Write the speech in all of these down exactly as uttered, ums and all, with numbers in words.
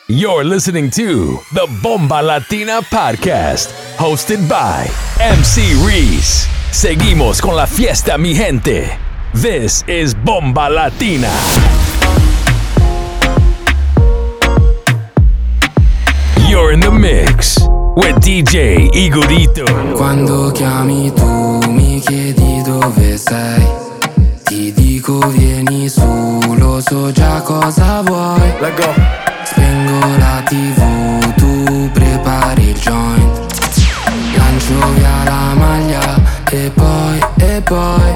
You're listening to the Bomba Latina Podcast, hosted by M C Reese. Seguimos con la fiesta, mi gente. This is Bomba Latina. You're in the mix with D J Igorito. Quando chiami tu mi chiedi dove sei, ti dico vieni su, lo so già cosa vuoi. Let go. Spengo la tivù, tu prepari il joint, lancio via la maglia e poi, e poi,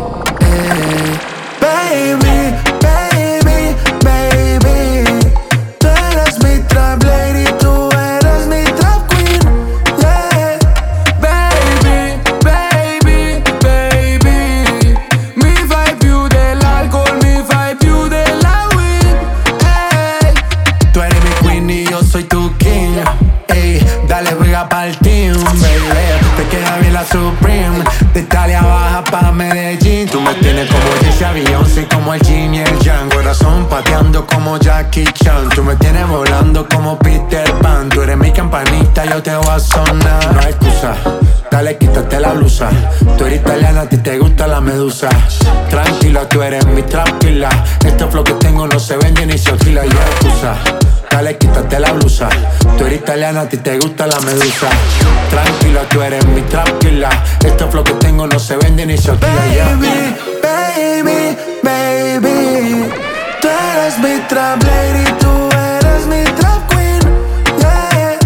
e Baby, baby, baby, tú eres mi trap lady, tú eres mi trap queen, yeah. Baby, baby, baby, mi fai più dell'alcol, mi fai più della weed, Ey, tú eres mi queen y yo soy tu king. Ey, dale juega pa'l team, baby. Te queda bien la Supreme, de Italia baja pa' Medellín. Tú me tienes como Jessie Beyoncé, como el Jin y el Yang. Corazón pateando como Jackie Chan. Tú me tienes volando como Peter Pan. Tú eres mi campanita, yo te voy a sonar. No hay excusa, dale quítate la blusa. Tú eres italiana, a ti te gusta la medusa. Tranquila, tú eres mi trap killer. Este flow que tengo no se vende ni se alquila. No hay excusa, dale quítate la blusa. Tú eres italiana, a ti te gusta la medusa. Tranquila, tú eres mi trap killer. Este flow que tengo no se vende ni se alquila. Baby, baby, baby, tú eres mi trap lady, tú eres mi trap queen, yeah.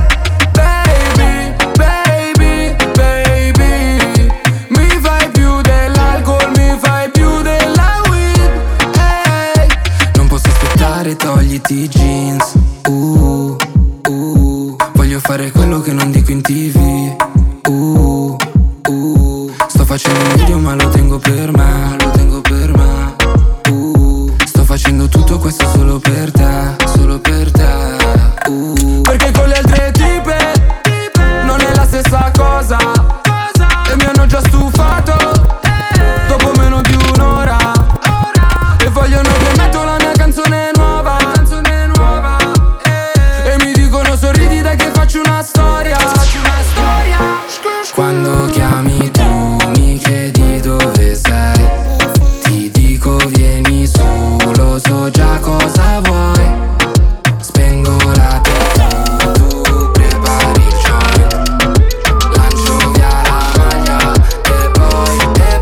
baby, baby, baby, mi fai più dell'alcol, mi fai più della weed, hey. Non posso aspettare, togliti i jeans, uh, uh, voglio fare quello che non dico in tv, uh, uh, sto facendo un video ma lo tengo per me, lo tengo per me, uh, sto facendo tutto questo solo per te, solo per te, uh, perché con le altre tipe non è la stessa cosa, e mi hanno già stufato dopo meno di un'ora, e vogliono che metto la mia canzone nuova, e mi dicono sorridi dai che faccio una storia. Quando chiami tu mi chiedi dove sei, ti dico vieni su, lo so già cosa vuoi. Spengo la tivù, tu prepari il joint, lancio via la maglia e poi, e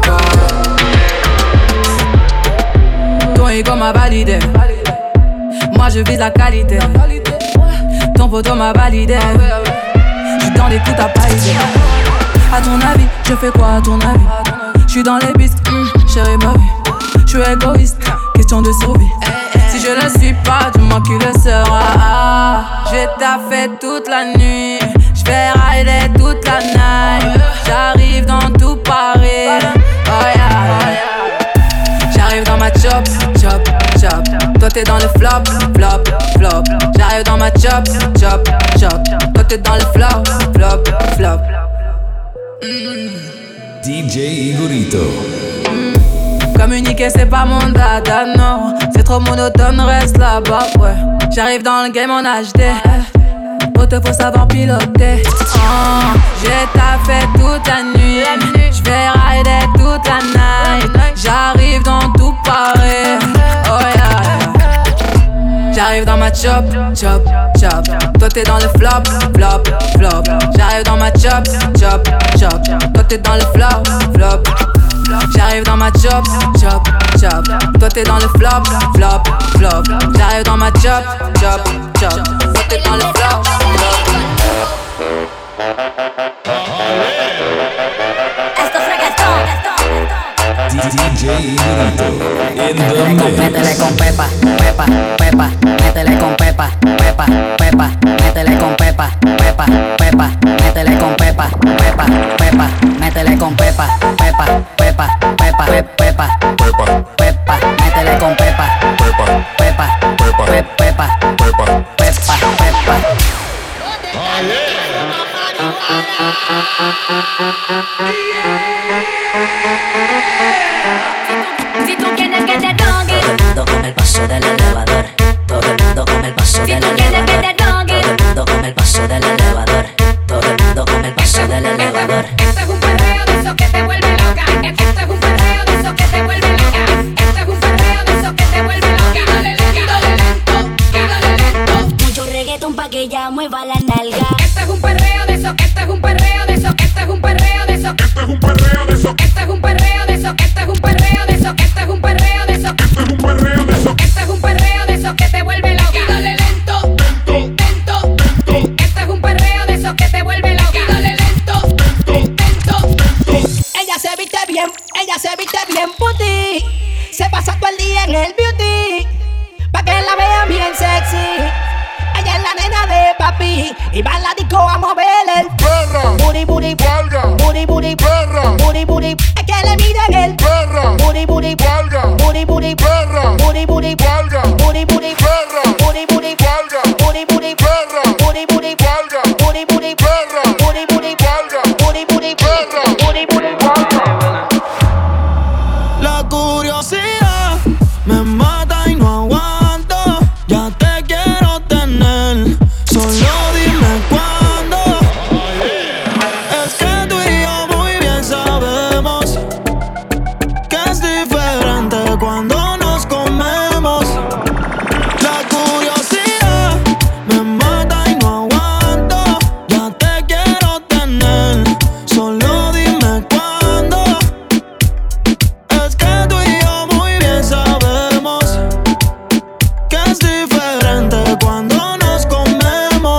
poi. Ton ego m'a validé, moi je vise la qualité. Ton poteau m'a validé, j'suis dans les coups à paliser. À ton avis, je fais quoi à ton avis? J'suis dans les bisques, mm, chérie ma vie. J'suis égoïste, question de survie. Si je ne suis pas, dis-moi qui le sera. J'ai taffé toute la nuit, j'vais rider toute la night. J'arrive dans tout Paris, oh yeah. J'arrive dans ma chop, chop, chop. Toi t'es dans le flop, flop, flop. J'arrive dans ma chop, chop, chop. Toi t'es dans le flop, flop, flop. D J Igorito. Communiquer c'est pas mon dada, non. C'est trop monotone, reste là-bas, ouais. J'arrive dans le game en H D. Oh, te faut savoir piloter. Oh, j'ai taffé toute la nuit. J'vais rider toute la night. J'arrive dans tout Paris. Oh yeah, yeah. J'arrive dans ma chop, chop, chop. Toi t'es dans le flop, flop, flop. J'arrive dans ma chop, chop, chop. Toi t'es dans le flop, flop. J'arrive dans ma chop, chop, chop. Toi t'es dans le flop, flop, flop. J'arrive dans ma chop, chop, chop. Toi t'es dans le flop, flop. Esto es reggaetón. D J Igorito in the mix. Métele con pepa, pepa, pepa. Métele con pepa, pepa, pepa. Métele con pepa, pepa, pepa. Métele con pepa, pepa, pepa. Métele con pepa, pepa, pepa, pepa, pepa, pepa, pepa. Métele con pepa, pepa, pepa, pepa, pepa, pepa, pepa. Si tú quieres que te toque, Todo el mundo con el paso del elevador. Todo el mundo con el paso si del tú quieres que elevador. te toque, pa' que ella mueva la nalga. Este es un perreo de eso, este es un perreo de eso, este es un perreo de eso, este es un perreo de eso, este es un perreo de eso, este es un perreo de eso, este es un perreo de eso, este es un perreo de eso, este es un perreo de eso que te vuelve loca. Y dale lento, lento, lento, lento. Este es un perreo de eso que te vuelve loca. Y dale lento, lento, lento, lento. Ella se viste bien, ella se viste bien puti. Se pasa todo el día en el beauty, pa' que la vean bien sexy. Ella es la nena de papi y va a la disco a mover el perra, booty, booty, valga, booty, booty, perra, booty, booty. Es que le miden el perra, booty, booty, valga, booty, booty, perra, booty, booty, valga, booty, booty, perra, booty, booty, valga, booty, booty, perra, booty, booty, valga, booty, booty, perra, booty, booty, valga, booty, booty, perra, booty, booty, valga. La curiosidad me mata y no aguanto. Ya te quiero tener, solo dime cuándo. Es que tú y yo muy bien sabemos que es diferente cuando nos comemos. La curiosidad me mata y no aguanto. Ya te quiero tener, solo dime cuándo. Es que tú y yo muy bien sabemos que es diferente cuando nos comemos.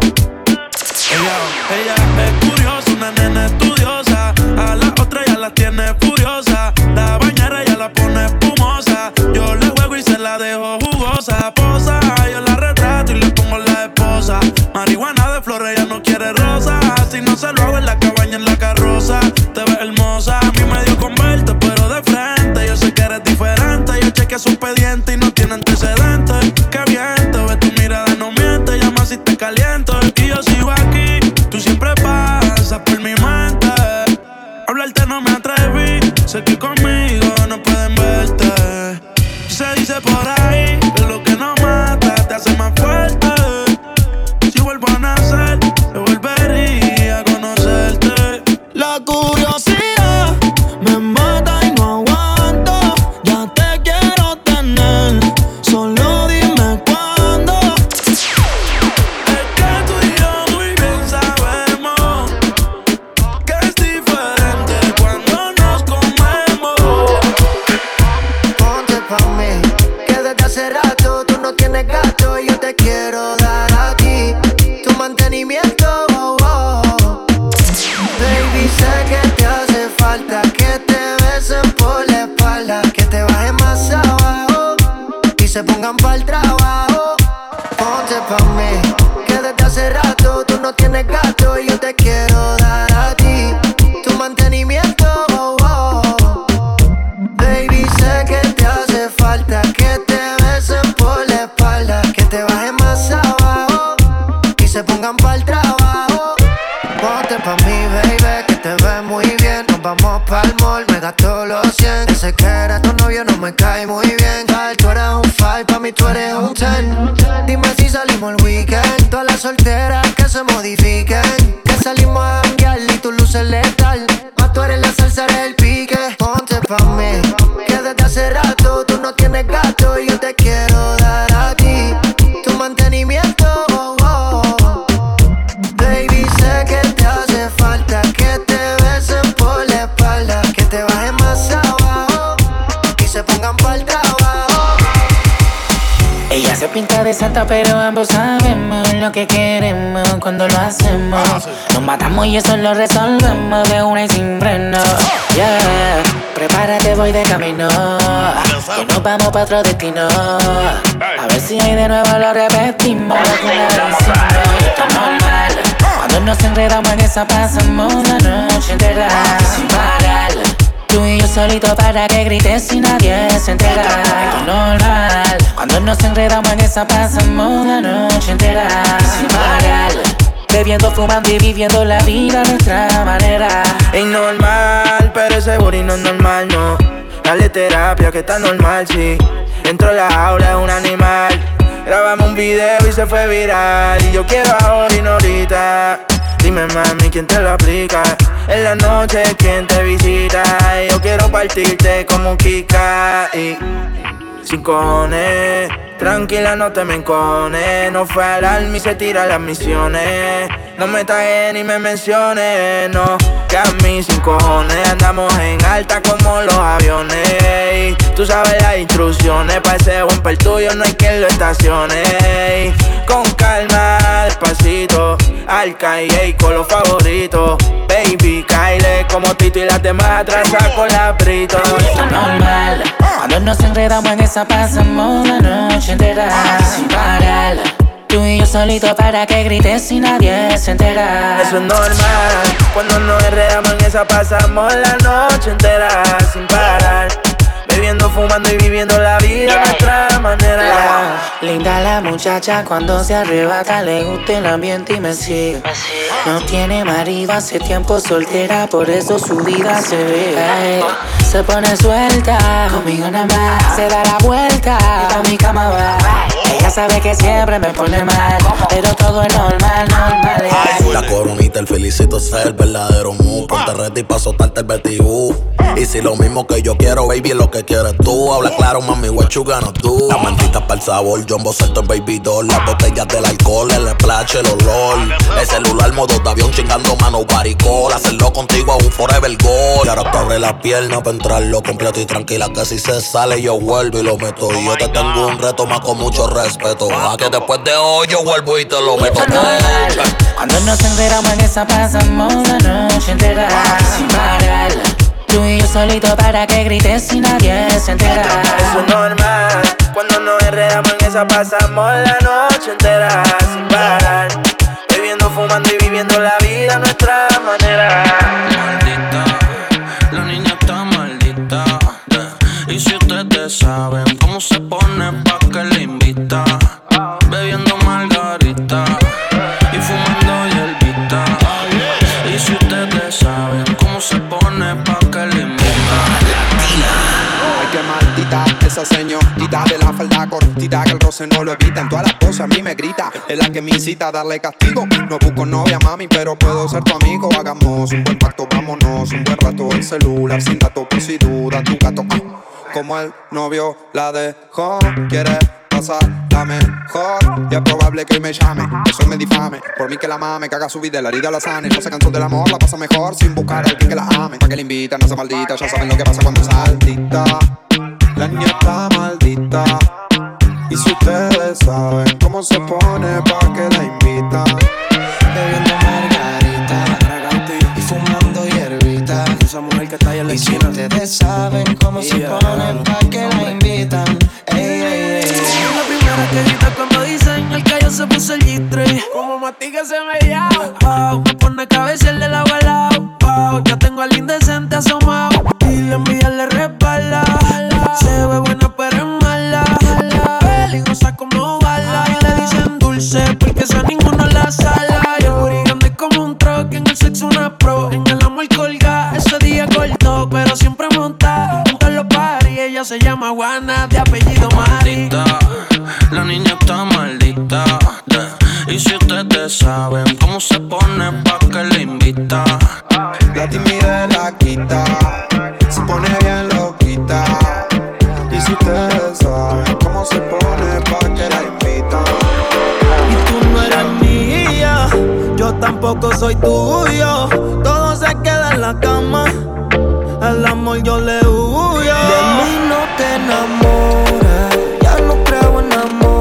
Ella, ella es curiosa, una nena estudiosa. A la otra ya la tiene furiosa. La bañera ya la pone espumosa. Yo le juego y se la dejo jugosa. Posa, yo la retrato y le pongo la esposa. Marihuana de flores, ella no quiere rosa. Si no se lo hago en la cabaña, en la carroza. Te ves hermosa, a mí me dio con verte, pero de frente. Yo sé que eres diferente. Yo chequeé su expediente y no tiene antecedentes. Qué bien te ves, tu mirada no miente. Llama si te caliento y yo sigo aquí. Tú siempre pasas por mi mente. Hablarte no me atreví. Sé que conmigo no pueden verte. Se dice por ahí que lo que no mata te hace más fuerte. Si vuelvo a nacer, te volvería a conocerte. La curiosidad me mata y no aguanto. Ya te quiero tener, solo dime cuándo. Es que tú y yo muy bien sabemos que es diferente cuando nos comemos. Ponte pa' mí, que desde hace rato tú no tienes gato y yo te quiero dar a ti tu mantenimiento. Oh, oh. Baby, sé que te hace falta que te besen por la espalda, que te bajen más abajo y se pongan pa'l trabajo. Ponte pa' mí, que desde hace rato tú no tienes gato y yo te quiero dar a ti tu mantenimiento. Oh, oh. Baby, sé que te hace falta que te besen por la espalda, que te bajen más abajo y se pongan pa'l trabajo. Ponte pa' mí, baby, que te ves muy bien. Nos vamos pa'l mall, me gasto los cien. Ese que era tu novio no me cae muy bien. Ay, tú eres un five, pa' mí tú eres un ten. Dime si salimos el weekend. Todas las solteras que se modifiquen, que salimos a janguear y tu luz es letal. Más tú eres la salsa, eres el pique. Ponte pa' mí, que desde hace rato tú no tienes gato y yo te quiero dar a ti tu mantenimiento. Oh, oh. Baby, sé que te hace falta que te besen por la espalda, que te bajen más abajo y se pongan pa'l trabajo. Ella se pinta de santa pero ambos sabemos lo que queremos cuando lo hacemos. Nos matamos y eso lo resolvemos de una y sin freno. Yeah, prepárate, voy de camino, que nos vamos pa' otro destino. A ver si hay de nuevo lo repetimos. Lo que una vez hicimos, esto es normal. Cuando nos enredamos en esa pasamos la noche entera sin parar. Tú y yo solito para que grites y nadie se entera. Esto es normal. Cuando nos enredamos en esa pasamos la noche entera sin parar. Bebiendo, fumando y viviendo la vida a nuestra manera. Es normal, pero ese booty no es normal, no. Dale terapia que está normal, sí. Dentro de la jaula es un animal. Grabamos un video y se fue viral. Y yo quiero ahora y no ahorita. Dime mami, ¿quién te lo aplica? En la noche, ¿quién te visita? Y yo quiero partirte como un Kika. Y sin cojones. Tranquila, no te me encones. No fue al alma y se tira las misiones. No me tagues ni me menciones, no. Que a mí sin cojones andamos en alta como los aviones. Tú sabes las instrucciones, pa' ese bumper tuyo no hay quien lo estacione. Con calma, despacito, al calle con los favoritos. Baby, Kyle, como Tito y las demás atrasas con la Brito. Esto es normal, cuando nos enredamos en esa pasamos la noche entera sin parar. Tú y yo solito para que grites y nadie se entera. Eso es normal, cuando nos enredamos en esa pasamos la noche entera sin parar. Bebiendo, fumando y viviendo la vida a nuestra manera. Yeah. Linda la muchacha cuando se arrebata, le gusta el ambiente y me sigue. No tiene marido, hace tiempo soltera, por eso su vida se ve. Ay, se pone suelta, conmigo nada más. Se da la vuelta, y pa' mi cama va. Ella sabe que siempre me pone mal, pero todo es normal, normal. Ay, la coronita, el felicito es el verdadero mood. Ponte ready pa' soltarte el vertigú. Y si lo mismo que yo quiero, baby, es lo que quieres tú. Habla claro, mami, what you gonna do. La mantita para el sabor, Jumbo Salto en Baby Doll. Las botellas del alcohol, el splash, el olor. El celular, modo de avión, chingando mano, baricol. Hacerlo contigo es un forever goal. Y ahora te abre la pierna pa' entrarlo completo y tranquila, que si se sale yo vuelvo y lo meto. Y yo te tengo un reto más con mucho respeto. A que después de hoy yo vuelvo y te lo meto. Cuando nos enteramos en esa pasamos la noche entera sin parar. Tú y yo solito para que grites y nadie se entera. Eso es normal, cuando nos enredamos en esa pasamos la noche entera sin parar. Bebiendo, fumando y viviendo la vida a nuestra manera. Maldita, la niña está maldita. Y si ustedes saben cómo se pone pa' que le invita. Bebiendo margarita y fumando hierbita. Y si ustedes saben cómo se pone pa' que le invita. Ay, qué maldita esa señorita de la falda cortita, que el roce no lo evita. En todas las cosas a mí me grita, es la que me incita a darle castigo. No busco novia, mami, pero puedo ser tu amigo. Hagamos un buen pacto, vámonos un buen rato. El celular sin datos por si duda tu gato. Ah, como el novio la dejó, quiere pasar la mejor. Y es probable que hoy me llame, eso me difame. Por mí que la mame, que haga su vida, la herida la sane. No se cansó del amor, la pasa mejor sin buscar a alguien que la ame. Pa' que la invita, no sea maldita, ya saben lo que pasa cuando saltita. La niña está maldita. Y si ustedes saben cómo se pone, pa' que la invita. Bebiendo margarita y fumando hierbita. Esa mujer que está ahí en la esquina. Y si ustedes saben cómo yeah. se pone, pa' que la invitan. Ey, ey, ey. La primera que grita cuando dicen el callo se puso el G-Stray. Como mastiga se me llama. Wow, me pone cabeza el del agua al lado. Wow, ya tengo al indecente asomado. Y la envidia le resbala. Se ve buena pero es mala. Peligrosa como bala. Y le dicen dulce porque esa ninguno la sala. Y el booty grande como un truck. En el sexo una pro. En el amor colga. Ese día cortó pero siempre monta. En todos los parties ella se llama Juana, de apellido Mari. La niña está maldita. Y si ustedes saben cómo se pone, pa' que le invita. La timidez la quita, se pone bien loquita. Y si ustedes saben cómo se pone, pa' que la invita. Y tú no eres mía, yo tampoco soy tuyo. Todo se queda en la cama, al amor yo le huyo. De mí no te enamoras, ya no creo en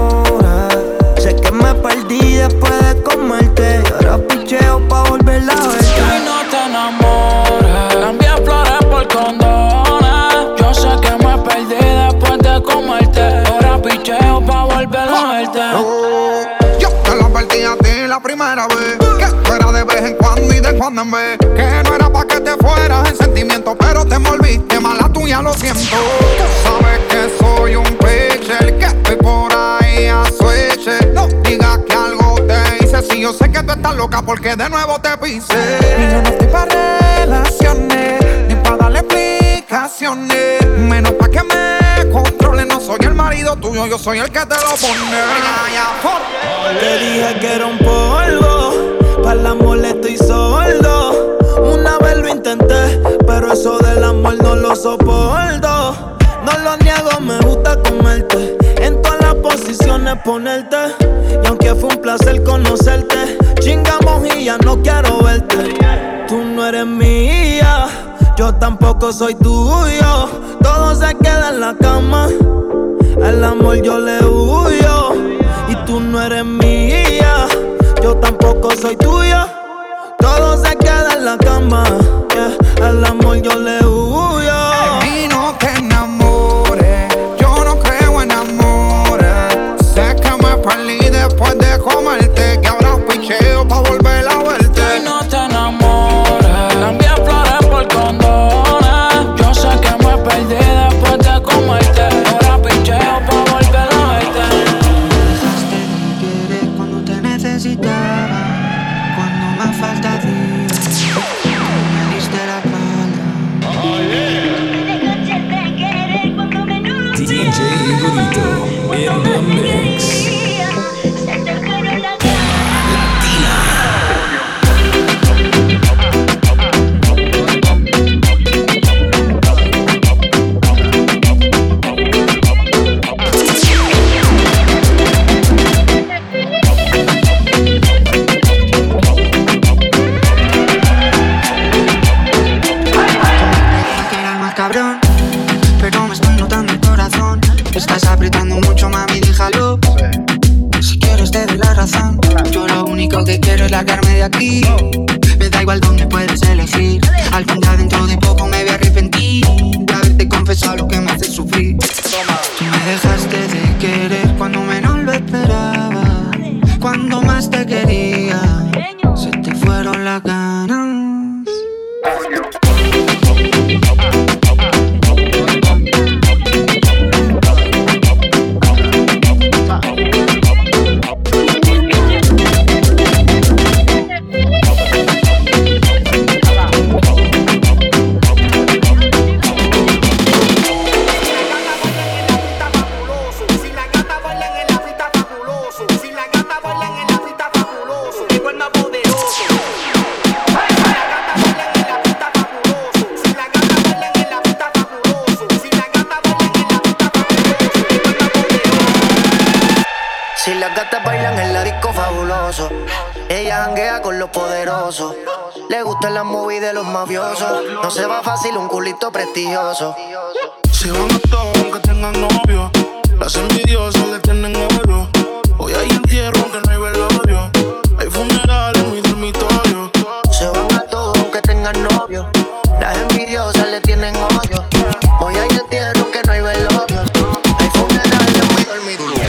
amor. Sé que me perdí después de comerte. Y ahora picheo pa' volverla a ver. De mí no te enamoras, cambié flores por condones. Yo sé que me perdí después de comerte. Ahora picheo pa' volverla a verte. Oh, yo te lo advertí a ti la primera vez, que fuera de vez en cuando y de cuando en vez. Que no era pa' que te fueras en sentimiento, pero te envolviste, mala tuya, lo siento. Tú sabes que soy un pitcher, que estoy por ahí a switch. No digas que algo te hice, si yo sé que tú estás loca porque de nuevo te pisé. Y yo no estoy pa' relaciones, ni pa' darle explicaciones, menos pa' que me controle. No soy el marido tuyo, yo soy el que te lo pone. Te dije que era un polvo, para el amor estoy sordo. Una vez lo intenté, pero eso del amor no lo soporto. No lo niego, me gusta comer quieres ponerte. Y aunque fue un placer conocerte, chingamos y ya no quiero verte. Tú no eres mía, yo tampoco soy tuyo. Todo se queda en la cama, al amor yo le huyo. Y tú no eres mía, yo tampoco soy tuya. Todo se queda en la cama, yeah. Al amor yo le huyo. Y no te enamores, yo no creo en amores. Sé que me perdí después de comerte, que ahora picheo pa' volver a verte. Y no te enamores, cambié flores por condones. Yo sé que me perdí después de comerte, ahora picheo pa' volver a verte. Dejaste de querer cuando te necesitaba, cuando me falta días, me diste la espalda. D J Burrito in the mix. Cabrón, pero me estoy notando el corazón. Estás apretando mucho, mami, déjalo. Si quieres te doy la razón. Yo lo único que quiero es largarme de aquí. Me da igual dónde puedes elegir. Algún día dentro de poco me voy a arrepentir de haberte confesado lo que me hace sufrir. Tú me dejaste de querer cuando menos lo esperaba, cuando más te quería. Se te fueron las ganas. Si las gatas bailan en la disco fabuloso, ella janguea con los poderosos. Le gustan las movies de los mafiosos. No se va fácil un culito prestigioso. Si van a todos aunque tengan novio, las envidiosas le tienen odio. Hoy hay entierro aunque no hay velorio, hay funerales en mi dormitorio. Se van a todos aunque tengan novio, las envidiosas le tienen odio. Hoy hay entierro aunque no hay velorio, hay funerales en mi dormitorio.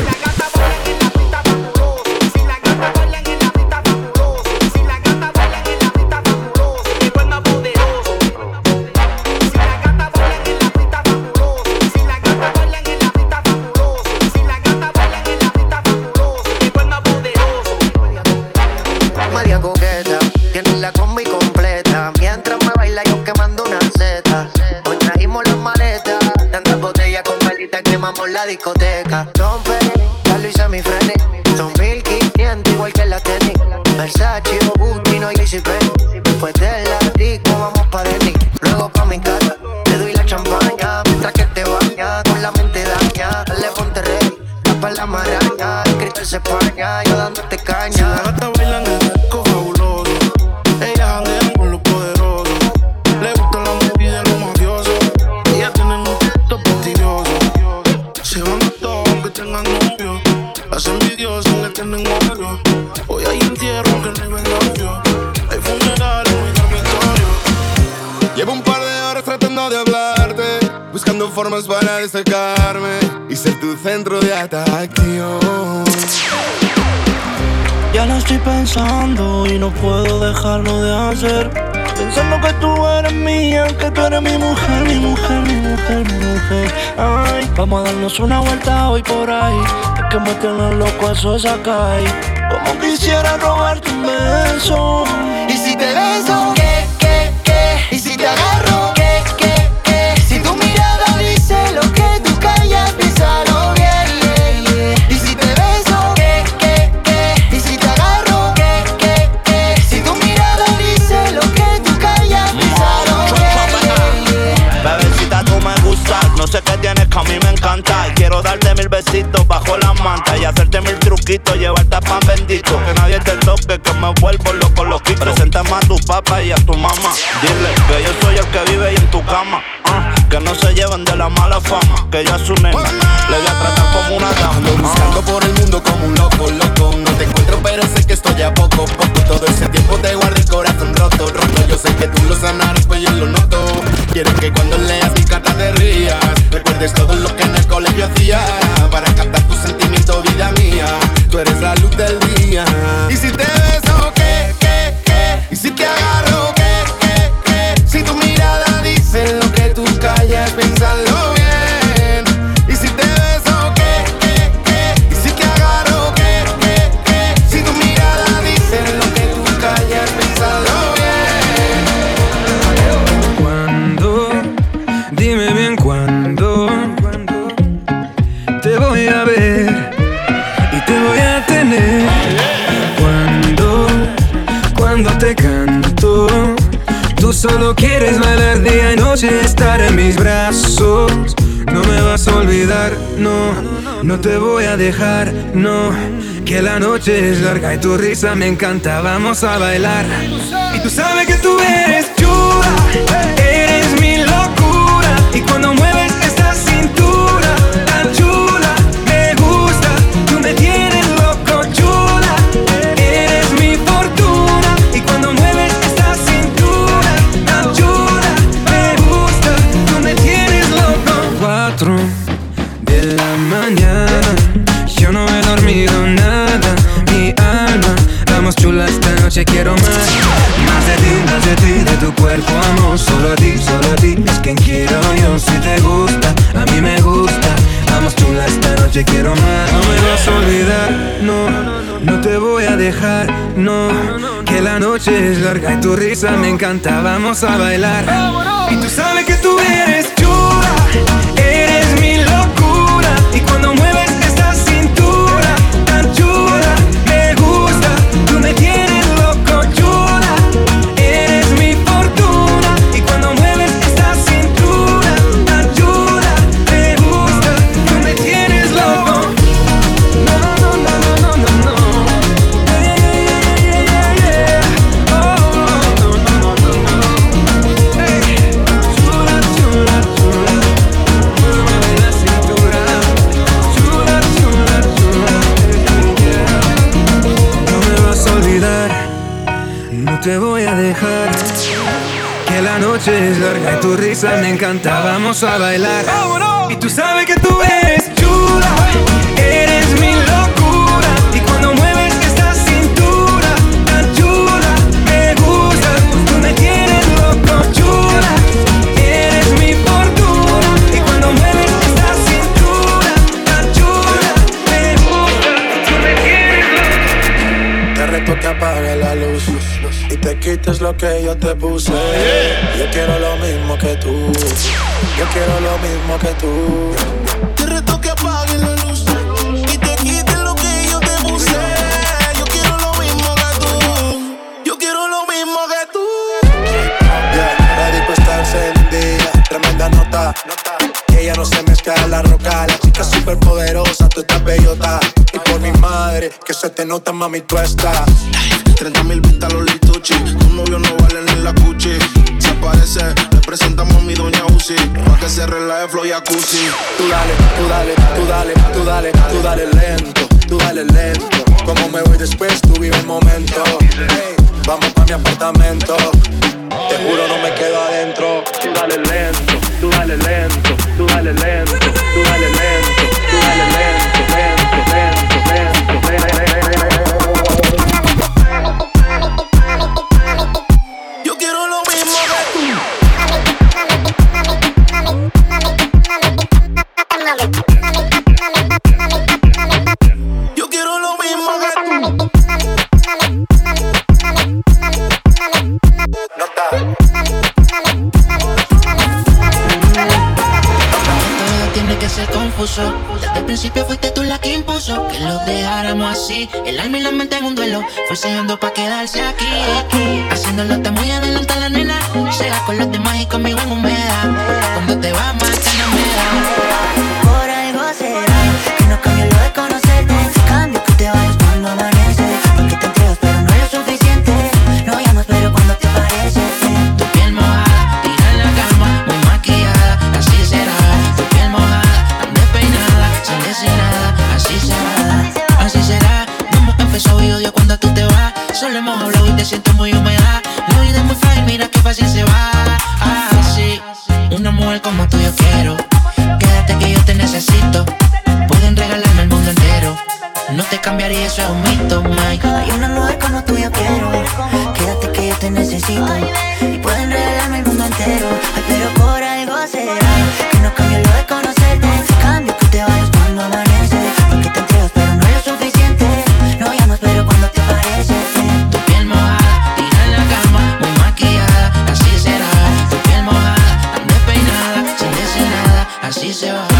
La combi completa, mientras me baila yo quemando una seta. Hoy trajimos las maletas, tantas botellas con velitas quemamos la discoteca. Don Peri, ya lo hice mi frene, son mil quinientos igual que la tenis. Versace o Gucci, no JCPenney. Después de la disco vamos pa' Denny, luego pa' mi casa, te doy la champaña mientras que te bañas con la mente daña. Dale ponte ready, tapa la maraña, el cristal se España, yo dándote caña. Si la gata baila en el disco fabuloso, ellas janguean con los poderosos. Le gustan las movies de los mafiosos. Ellas tienen un texto prestigioso. Se van a todos aunque tengan novio, las envidiosas le tienen odio. Hoy hay entierro aunque no hay velorio, hay funerales en mi dormitorio. Llevo un par de horas tratando de hablarte, buscando formas para destacarme y ser tu centro de atracción. Ya lo estoy pensando y no puedo dejarlo de hacer. Pensando que tú eres mía, que tú eres mi mujer, mi mujer, mi mujer, mi mujer. Ay, vamos a darnos una vuelta hoy por ahí. Es que me tienen loco eso es acá. Como quisiera robarte un beso. Y si te beso, ¿qué, qué, qué? Y si te agarro, ¿qué, qué, qué? Si tu mirada dice lo que tú callas, piénsalo bien. Y si te beso, ¿qué, qué, qué? Y si te agarro, ¿qué, qué, qué? Si tu mirada dice lo que tú callas, piénsalo bien. Bebecita, tú me gustas, no sé qué tienes que a mí me encanta. Y quiero darte mil besitos bajo la manta y hacerte poquito, llevarte a pan bendito. Que nadie te toque, que me vuelvo loco, loquito. Preséntame a tu papá y a tu mamá. Dile que yo soy el que vive ahí en tu cama. Uh, que no se lleven de la mala fama. Que yo a su nena le voy a tratar como una dama. Ando buscando por el mundo como un loco, loco. No te encuentro pero sé que estoy a poco, poco. Todo ese tiempo te guardé el corazón roto, roto. Yo sé que tú lo sanarás, pues yo lo noto. Quiero que cuando leas mi carta te rías. Recuerdes todo lo que en el colegio hacía. Para captar tus sentimientos, vida mía. Tú eres la luz del día. Y si te beso, ¿qué, qué, qué? Y si te agarro, ¿qué, qué, qué? Si tu mirada dice lo que tú callas, piénsalo bien. Y si te beso, ¿qué, qué, qué? Y si te agarro, ¿qué, qué, qué? Si tu mirada dice lo que tú callas, piénsalo bien. ¿Cuándo? Dime bien cuándo te voy a ver y te voy a tener. Cuando, cuando te canto, tú solo quieres bailar día y noche, estar en mis brazos. No me vas a olvidar, no, no te voy a dejar, no. Que la noche es larga y tu risa me encanta, vamos a bailar. Y tú sabes que tú eres chula, eres mi locura. Y cuando mueves esta cintura tan chula, me gusta, tú me tienes loco, chula. Eres mi fortuna. Y cuando mueves esta cintura tan chula, me gusta, tú me tienes loco. Cuatro de la mañana, yo no he dormido nada, mi alma, vamos chula esta noche, quiero más. Más de ti, más de ti, de tu cuerpo amo. Solo a ti, solo a ti, es quien quiero yo. Si te gusta, a mí me gusta. Vamos chula esta noche, quiero más. No me vas a olvidar, no, no te voy a dejar, no. Que la noche es larga y tu risa me encanta, vamos a bailar. Y tú sabes que tú eres chula, eres mi locura. Y cuando mueves esta cintura tan chula, me gusta, tú me tienes loco, chula. Eres mi fortuna. Y cuando mueves esta cintura tan chula, me gusta, tú me tienes loco. No, no, no, no, no, no, no. Yeah, yeah, yeah, yeah, yeah. Oh, no, no, no, no, no. Hey, chula, chula, chula. Muéveme la cintura. Chula, chula, chula. Yeah. No me vas a olvidar, no te voy a dejar. Que la noche es larga y tu risa me encanta, vamos a bailar. Y tú sabes que tú eres chula, eres mi locura. Y cuando mueves esta cintura tan chula, me gusta, tú me tienes loco, chula. Eres mi fortuna. Y cuando mueves esta cintura tan chula, me gusta, tú me tienes loco. Te reto que apague la luz y te quites lo que yo te puse. Yo quiero lo mismo que tú. Yo quiero lo mismo que tú. Te reto que apagues la luz y te quites lo que yo te puse. Yo quiero lo mismo que tú. Yo quiero lo mismo que tú. Yeah, la disco está encendida, tremenda nota. Que ella no se mezcla en la roca. La chica súper poderosa, tú estás bellota. Y por mi madre, que se te nota, mami, tú estás. treinta mil vistas los lituchi. Tu novio no vale ni la cuchi. Se aparece, le presentamos a mi doña Uzi. Pa' que se relaje flow y jacuzzi. Tú dale, tú dale, tú dale, tú dale, tú dale lento, tú dale lento. Como me voy después, tú vive el momento. Hey, vamos pa' mi apartamento. Te juro no me quedo adentro. Tú dale lento, tú dale lento, tú dale lento, tú dale lento, tú dale lento, lento, lento, lento, lento. Yo quiero lo mismo que tú. Yo quiero lo mismo que tú. Tiene que ser confuso. Desde el principio fuiste tú la que impuso que lo dejáramos así. El alma y la mente en un duelo, forceando pa' quedarse aquí. Haciéndolo está muy adelante la nena. Sea con los demás y conmigo en humedad. Cuando te vas más que no me da. Por algo será que no cambio lo de conocerte. Cambio que te va Solo hemos hablado y te siento muy húmeda. La vida es muy frágil, mira qué fácil se va. Ah, sí, una mujer como tú yo quiero. Quédate que yo te necesito. Pueden regalarme el mundo entero. No te cambiaría, eso es un mito, Mike. Hay una mujer como tú yo quiero. Quédate que yo te necesito. Y pueden regalarme el mundo entero. Ay, pero por algo será que no cambio lo de conocerte. Cambio que te vayas cuando amanece. Porque te entregas pero no es lo suficiente. No llamas pero cuando te aparece. Tu piel mojada, tira en la cama, muy maquillada, así será. Tu piel mojada, tan despeinada, sin decir nada, así se va.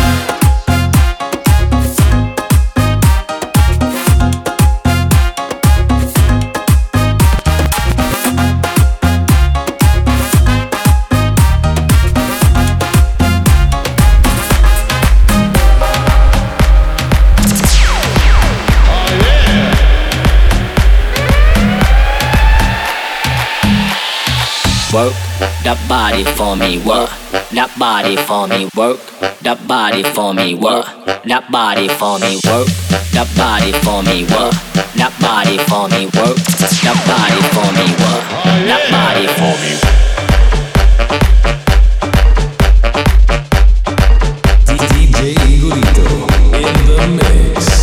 Work that body for me, work that body for me, work that body for me, work that body for me, work that body for me, work that body for me, work that body for me, work that body for me. D J Igorito in the mix.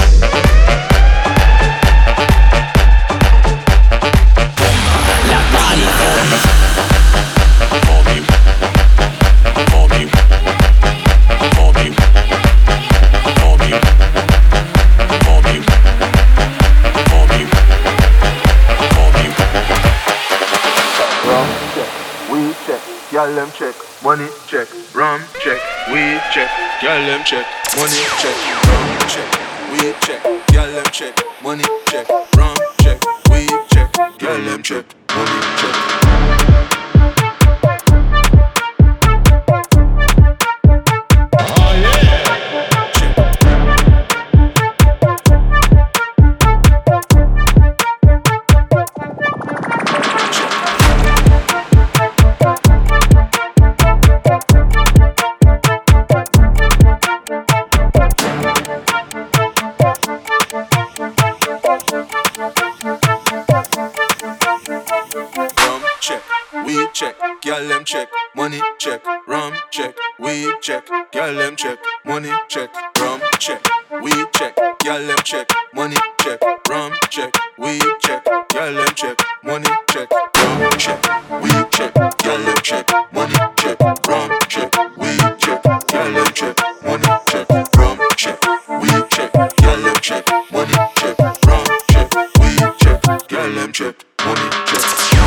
Girl them check, money check, rum check, weed check, girl them check, money check, rum check, weed check, girl them check, money check, rum check, weed check, girl them check, money check. Girl them check, money check, rum check, weed check, girl them check, money check, rum check, weed check, girl them check, money check, rum check, weed check, girl them check, money check, rum check, weed check, girl them check, money check, rum check, weed check, girl them check, money check, rum check, weed check, girl them check, money check, rum check, weed check, girl them check, money check.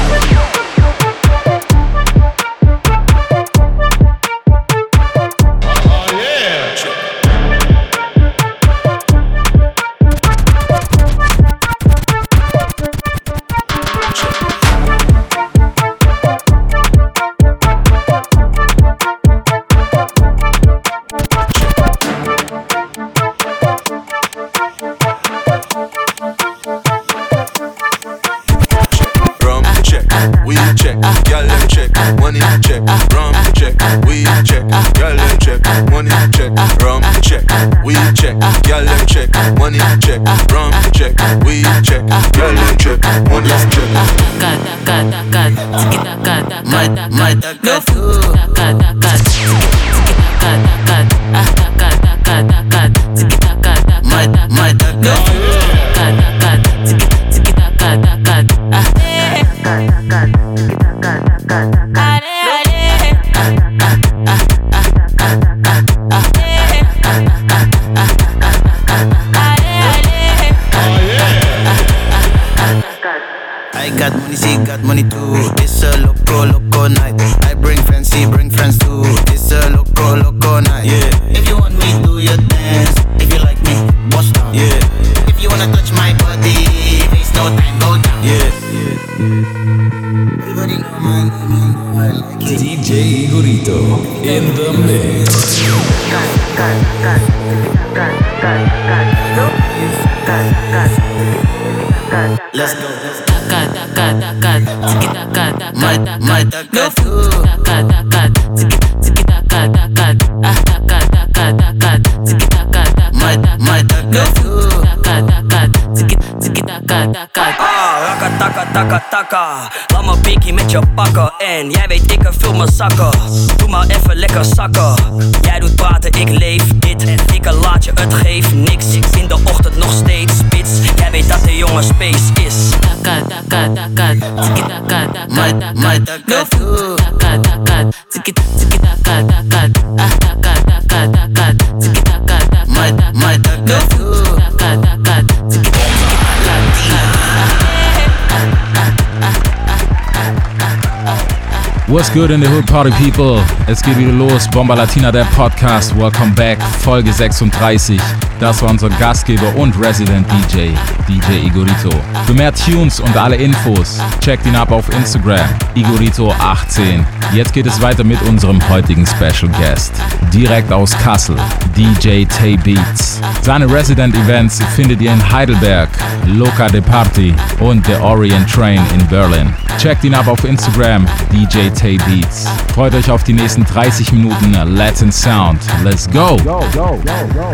Let's go. Let's go. Rakka, takka, takka, takka. Laat me beakie met je pakken. En jij weet ik vul mijn zakken. Doe maar even lekker zakken. Jij doet praten, ik leef dit. Ik laat je, het geeft niks. In de ochtend nog steeds spits. Jij weet dat de jongen space is. Takka, takka, takka. Tiki takka, takka, takka. Takka, takka. Tiki tiki takka, takka. Ah, takka, takka, takka. Tiki takka, takka, takka. Takka, takka. Tiki What's good in the hood, party people? Es geht wieder los, Bomba Latina, der Podcast. Welcome back, Folge sechsunddreißig. Das war unser Gastgeber und Resident D J, D J Igorito. Für mehr Tunes und alle Infos, checkt ihn ab auf Instagram, Igorito achtzehn. Jetzt geht es weiter mit unserem heutigen Special Guest. Direkt aus Kassel, D J Tay Beats. Seine Resident Events findet ihr in Heidelberg, Loca de Party und The Orient Train in Berlin. Checkt ihn ab auf Instagram, D J Tay Beats. Freut euch auf die nächsten dreißig Minuten Latin Sound. Let's go! go, go, go, go, go.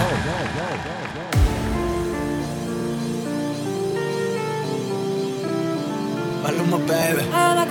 Maluma, baby.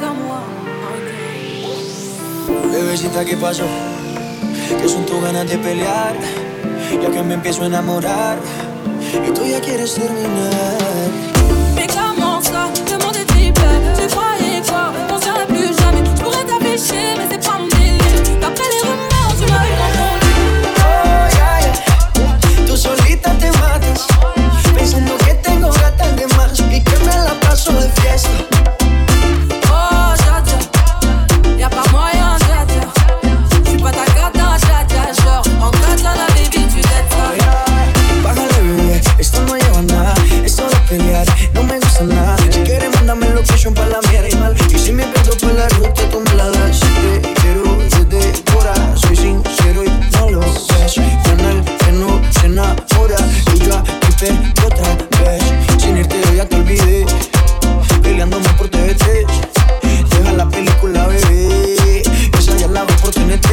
Bebecita, ¿qué pasó? ¿Qué son tus ganas de pelear? Ya que me empiezo a enamorar y tú ya quieres terminar. Mais comment ça? Demande tes plaies. Tu croyais quoi? On serait plus jamais. Je pourrais t'afficher, mais c'est pas mon délire. D'après les rumeurs, tu m'as eu confondu. Oh, yeah, yeah. Tú solita te matas, pensando que tengo gatas de más y que me la paso de fiesta. Oh, Jaja, y'a pas moyen, Jaja. J'suis pas ta gata, Jaja. Genre, en katana, baby, tu t'aides ça. Bájale, bebé, esto no lleva nada. Es solo pelear, no me gusta nada. Si quieres, mándame location pa' la mierda. Y si me pierdo por la ruta, tú me la das. Si te quiero desde fuera, soy sincero y no lo ves. Canal que no se enamora. Y yo aquí perdí otra vez. Sin irte yo ya te olvidé, peleándome por T V tres. Deja la película, bebé, esa ya la veo por T N T.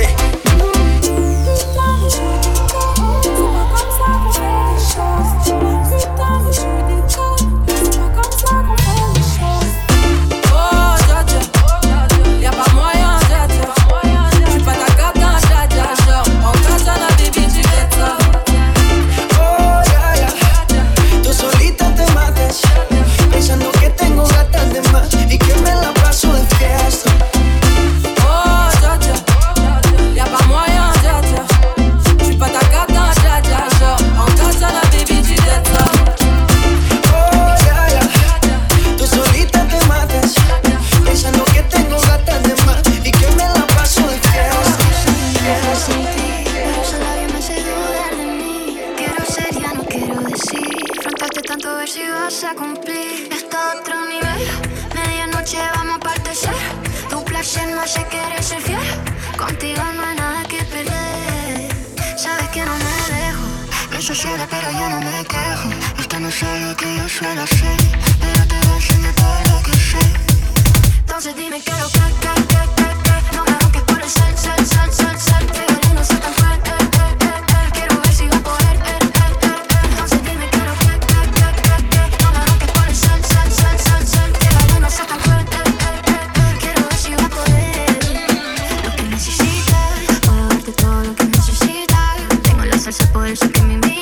Pero yo no me quejo. Esto no es lo que yo suelo hacer, pero te voy a enseñar todo lo que sé. Entonces dime qué lo que, que, que, que, que. No me busques por el sal, sal, sal, sal, sal. Que yo no soy tan fuerte, eh, eh, eh. Quiero ver si va a poder, eh, eh, eh. Entonces dime qué lo que, que, que, que, que. No me busques por el sal, sal, sal, sal, sal. Que yo no soy tan fuerte, eh, eh, eh. Quiero ver si va a poder. Lo que necesitas, puedo darte todo lo que necesitas. Tengo la salsa por eso que me invitas.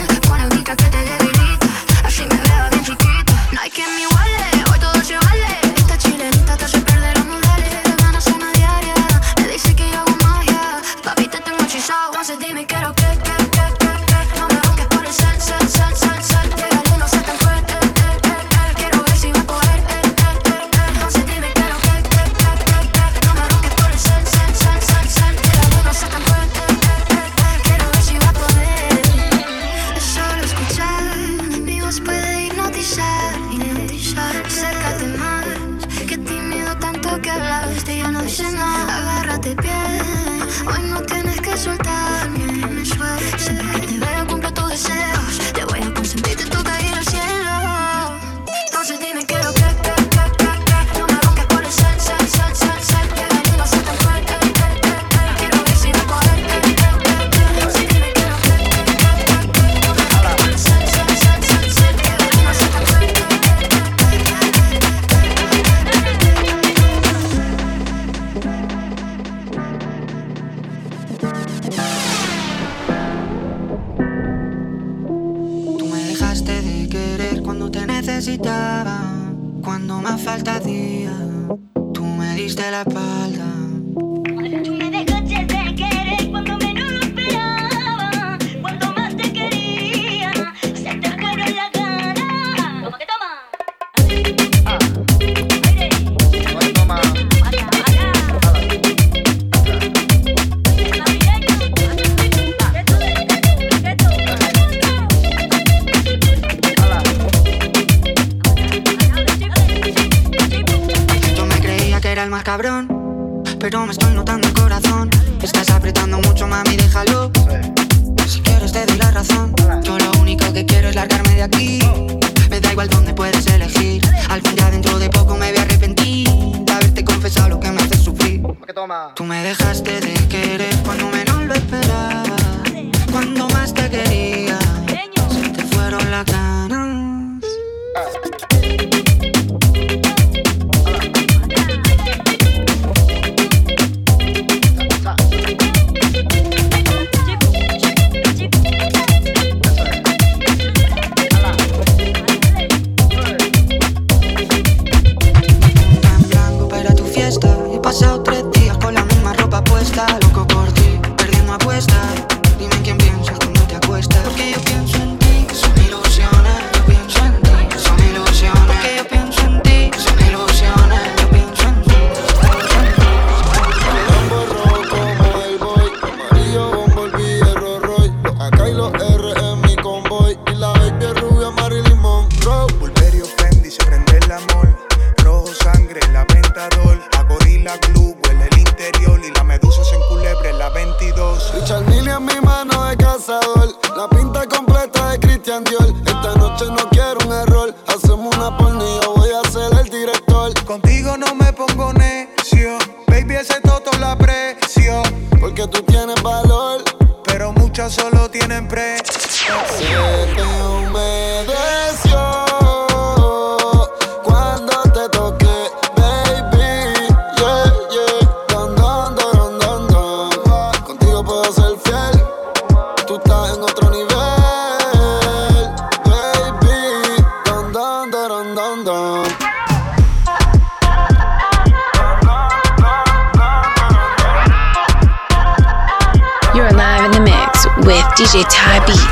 Que te debilita, así me veo bien chiquita. No hay quien me iguale, hoy todo se vale. Esta chilenita te hace perder los modales. Ganas una diaria, me dice que yo hago magia. Papi, te tengo hechizado, entonces dime qué lo que, que, que, que, que. No me busques por el sal, sal, sal, sal, sal. Que yo no soy tan fuerte, eh, eh, eh. Quiero ver si va a poder, eh, eh, eh, eh. Entonces dime qué lo que, que, que, que, que. No me busques por el sal, sal, sal, sal, sal. Que yo no soy tan fuerte, eh, eh, eh. Quiero ver si va a poder. Solo escuchar, mi voz puede hipnotizar, hipnotizar. Acércate más, que tímido tanto que hablaste, ya no dice nada. Agárrate bien, hoy no tienes que soltarme. Me suelto, siempre que te veo cumplo tus deseos. Te voy a consentir, te toca ir al cielo. Entonces dime qué lo que, que, que, que, que. No me busques por el sal, sal, sal, sal, sal. Que yo no soy tan fuerte, eh, eh, eh. Quiero ver si va a poder, eh, eh, eh. Entonces dime qué lo que, que, que, que, que. No me busques por el sal, sal, sal, sal, sal. Que yo no soy tan fuerte, eh, eh, eh. falta día, tú me diste la espalda. Tú me dejaste de querer cuando menos lo esperaba. Cuando más te quería, se te fueron la gana. ¿Cómo que toma? Ah. Aire. Toma. Yo me creía que era el más cabrón, pero me estoy notando el corazón. Estás apretando mucho, mami, déjalo. Si quieres te doy la razón. Yo lo único que quiero es largarme de aquí. Me da igual dónde puedes elegir. Al fin ya dentro de poco me voy a arrepentir de haberte confesado lo que me hace sufrir. Tú me dejaste de querer cuando menos lo esperaba. Cuando más te quería, se te fueron las ganas. He pasado tres días con la misma ropa puesta. Loco por ti, perdiendo apuestas. Dime en quién piensas cuando te acuestas. Porque yo pienso en ti, son ilusiones. Yo pienso en ti, son ilusiones. Porque yo pienso en ti, son ilusiones. Yo pienso en ti, Bombo rojo como el boy, amarillo Bumblebee, hierro Roy. Los A K y los R en mi convoy. Y la baby es rubia Marilyn Monroe. Pulverio Fendi, se prende el amor. Rojo sangre, la Ventador. La glue, huele el interior y la medusa se enculebre en la veintidós. Richard Mille en mi mano de cazador, la pinta completa de Christian Dior. Esta noche no quiero un error, hacemos una porno y yo voy a ser el director. Contigo no me pongo necio, baby ese toto la aprecio. Porque tú tienes valor, pero muchas solo tienen precio. Se te humedeció cuando te toqué. With D J Ty Beats.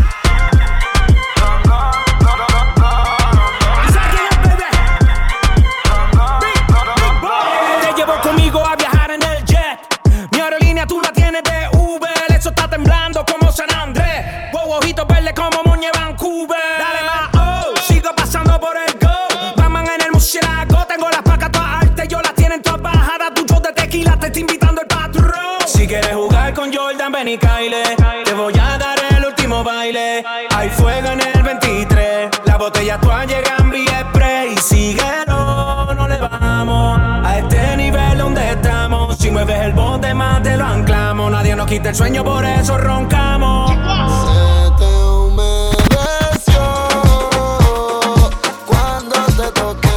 Te llevo conmigo a viajar en el jet. Mi aerolínea tú la tienes de Uber. Eso está temblando como San Andrés. Wow, ojitos verdes como Moñe Vancouver. Dale más, oh, sigo pasando por el go. Batman en el murciélago. Tengo las placas todas altas, yo las tienen todas bajadas. Tu show de tequila te está invitando el patrón. Si quieres jugar con Jordan, ven y Kyle. Te voy a dar el último baile. Hay fuego en el veintitrés. La botella actual llega en V-Spray. Síguelo, no le vamos a este nivel donde estamos. Si mueves el bote más te lo anclamos. Nadie nos quita el sueño, por eso roncamos. Se te humedeció cuando te toqué.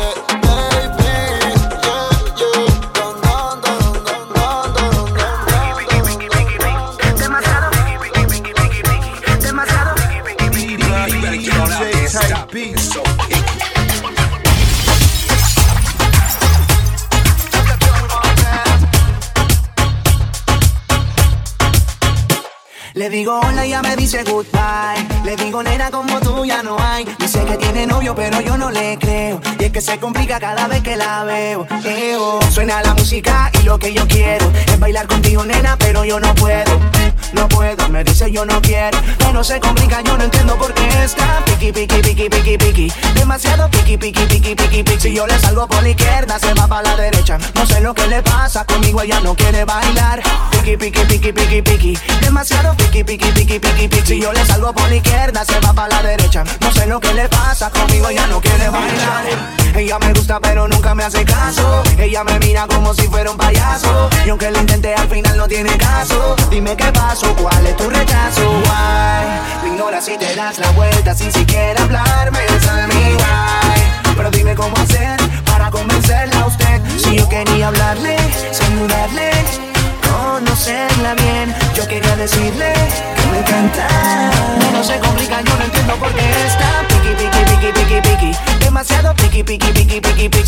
Le digo hola y ya me dice goodbye. Le digo nena como tú ya no hay. Dice que tiene novio pero yo no le creo. Y es que se complica cada vez que la veo. Eo. Suena la música y lo que yo quiero es bailar contigo nena pero yo no puedo. No puedo, me dice yo no quiero. Todo se complica, yo no entiendo por qué está piqui, piqui, piqui, piqui, piqui. Demasiado piqui, piqui, piqui, piqui, piqui. Si yo le salgo por la izquierda, se va para la derecha. No sé lo que le pasa, conmigo ella no quiere bailar. Piqui, piqui, piqui, piqui, piqui. Demasiado piqui, piqui, piqui, piqui, piqui. Si yo le salgo por la izquierda, se va para la derecha. No sé lo que le pasa, conmigo ella no quiere bailar. Ella me gusta pero nunca me hace caso. Ella me mira como si fuera un payaso. Y aunque lo intenté al final no tiene caso. Dime qué pasó, cuál es tu rechazo. Why? Me ignoras si te das la vuelta sin siquiera hablarme. Tell me why. Pero dime cómo hacer para convencerla a usted. Si yo quería hablarle, saludarle, conocerla bien. Yo quería decirle que me encanta. No se complica, yo no entiendo por qué está piqui, piqui, piqui, piqui, piqui. Demasiado piqui, piqui, piqui, piqui, piqui.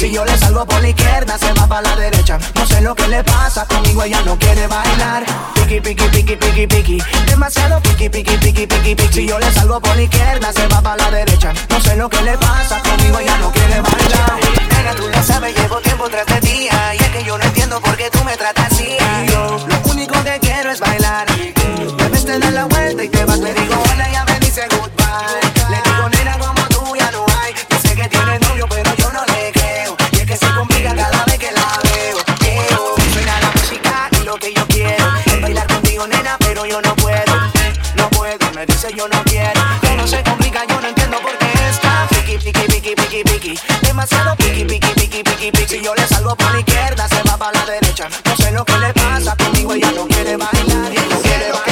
Si yo le salgo por la izquierda, se va para la derecha. No sé lo que le pasa, conmigo ella no quiere bailar. Piqui, piqui, piqui, piqui, piqui. Demasiado piqui, piqui, piqui, piqui, piqui. Si yo le salgo por la izquierda, se va para la derecha. No sé lo que le pasa, conmigo ella no quiere bailar. Nena, tú lo sabes, llevo tiempo tras de ti. Y es que yo no entiendo por qué tú me tratas así. Yo lo único que quiero es bailar. Debes te dar la vuelta y te vas. Le digo hola y ya me dice goodbye. Le digo nena como tú ya no hay. Yo sé que tienes novio pero yo no le creo. Y es que se complica cada vez que la veo. Quiero, suena la música y lo que yo quiero es bailar contigo nena pero yo no puedo. No puedo, me dice yo no quiero. Pero se complica, yo no entiendo por qué está piqui, piqui, piqui, piqui, piqui. Demasiado piqui, piqui, piqui, piqui, piqui. Si yo le salgo por la izquierda se va para la derecha. No sé lo que le pasa, conmigo ella no quiere bailar. Y no quiere bailar.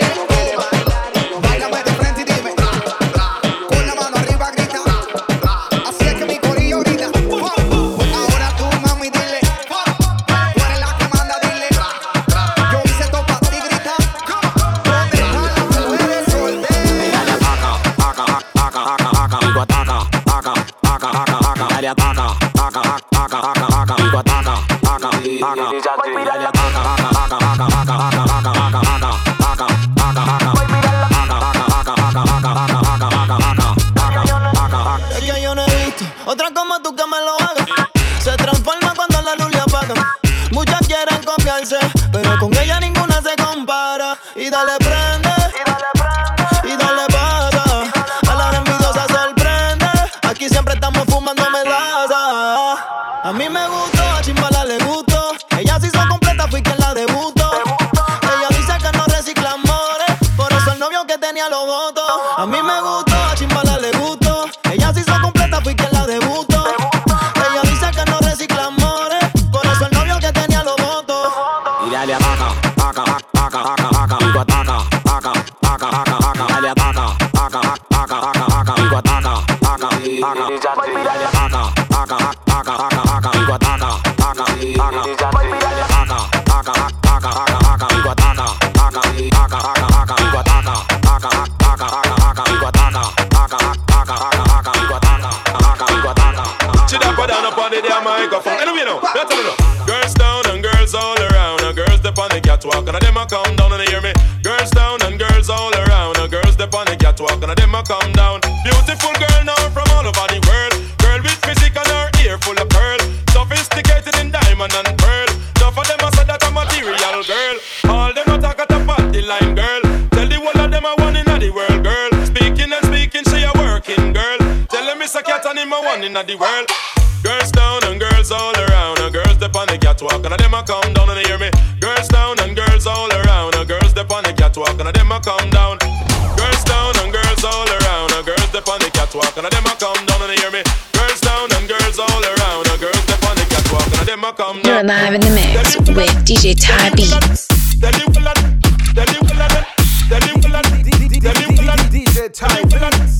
Es que yo no he visto otra como tú que me lo haga. Se transforma cuando la luz le apaga. Muchas quieren copiarse, pero con ella ninguna se compara. Y dale prende, y dale pasa. A la envidiosa sorprende. Aquí siempre estamos fumando melaza. A mí me gustó, a Chimbala le gustó. Ella se hizo completa, fui quien la debutó. Ella dice que no recicla amores, por eso el novio que tenía lo votó. A mí me gustó, a Chimbala le gustó. Ella se hizo completa, fui quien la debutó. Ella dice que no recicla amores, por eso el novio que tenía lo votó. Y dale ataca, ataca, ataca, ataca, ataca, digo ataca, ataca, ataca, ataca, dale ataca, ataca, ataca, ataca, digo ataca, ataca, ataca, y dale ataca, ataca, ataca, ataca, digo ataca, ataca, ataca, y dale ataca, ataca, ataca, ataca, digo ataca, ataca, ataca, ataca, digo ataca, ataca, ataca, ataca, digo ataca, ataca, ataca, ataca, digo ataca, ataca, digo ataca. She done put down up on the damn microphone. Anyway, you know, let's tell you. Girls down and girls all around. And girls step on the catwalk and them a come down and they hear me. Girls down and girls all around. And girls step on the catwalk and them a come down. Beautiful girl now from all over the world. Girl with physique and her ear full of pearl. Sophisticated in diamond and pearl. Enough of them a say that a material girl. All them a talk at the party line girl. Tell the whole of them a one in the world girl. Speaking and speaking she a working girl. Tell them it's a cat and him a one in the world. Girls down and girls all around. And girls step on the catwalk and them a come down and they hear me. Girls down and girls all around. And girls step on the catwalk and them a come down. Girls down and girls all around. And girls step on the catwalk and them a come down and they hear me. Girls down and girls all around. And girls step on the catwalk and them a come down. You're live in the mix with D J Ty Beats. D J Ty Beats.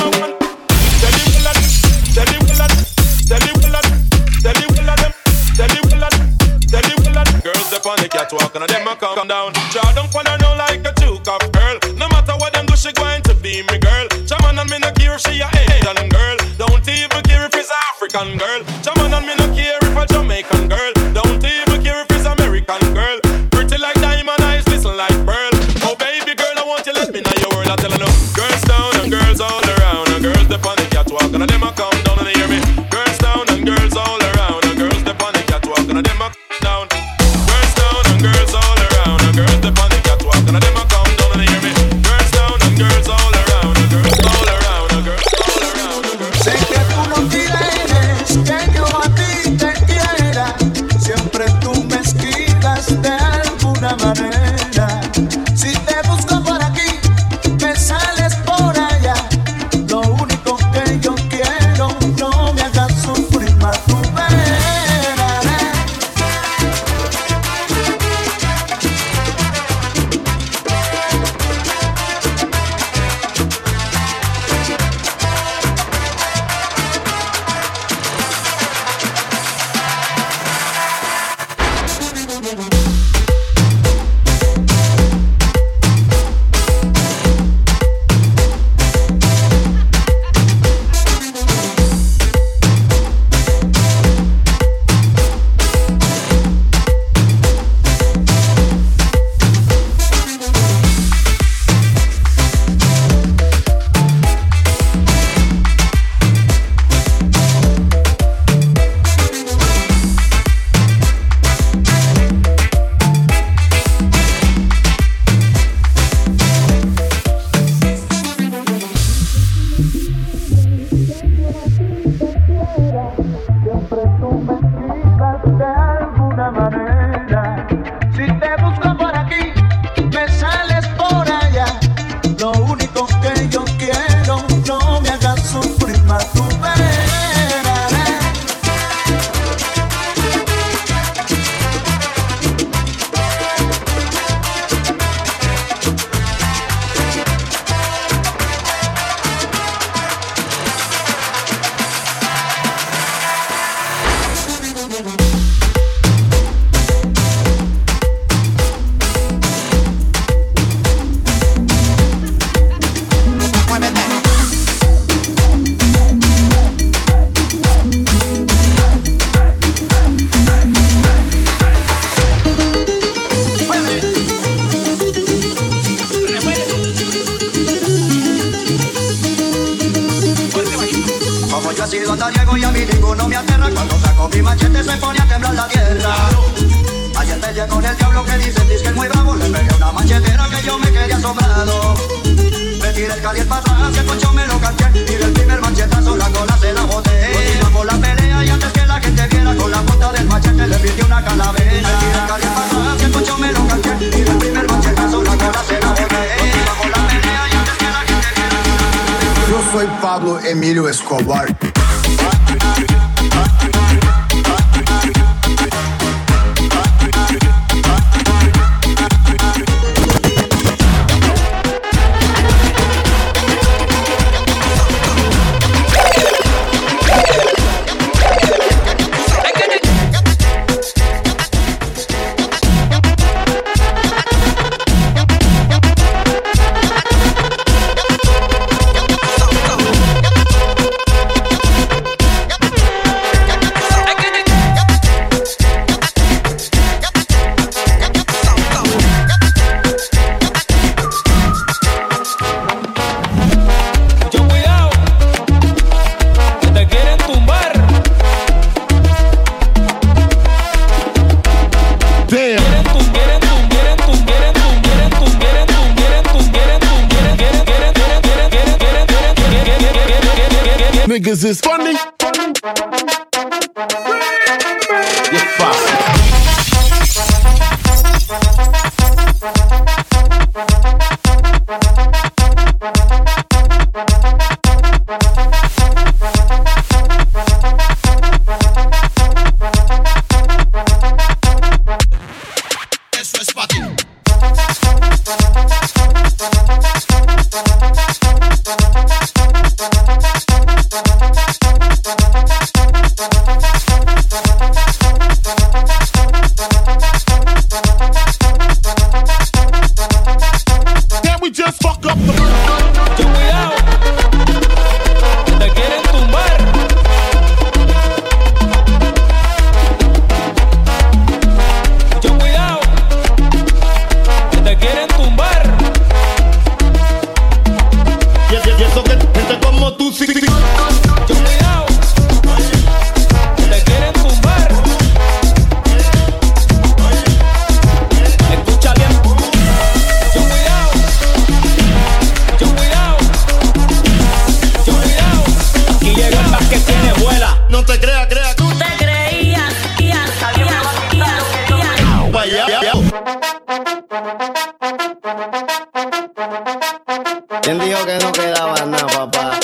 Girls up on the catwalk and them a come down. Draw down for her now like a two cup girl. No matter what them do, she going to be me girl. Chaman and me no care if she a Asian girl. Don't even care if it's African girl. Chaman and me no care if a Jamaican girl. Don't even care if it's American girl. Pretty like diamond eyes, listen like pearl. Oh baby girl, I want you let me know your word. I tell her no. Girls down and girls all around. And girls up on the catwalk and them a come down and they hear me. Girls down and girls all around. And girls up on the catwalk and them a come down. Girls down and girls all around. And girls up on the catwalk and them a come down and they hear me. Girls down and girls all around. And girls all around. And girls all around. And girls. Sé que tú no tienes, que yo Siempre tú me esquivas de alguna manera. Si te busco por aquí, me sales por allá. Lo único que yo quiero, no me hagas sufrir más tu pena. Emilio Escobar. Niggas is funny. You're fast. Eso es para ti. ¿Quién dijo que no quedaba nada, papá?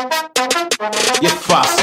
Y es fácil.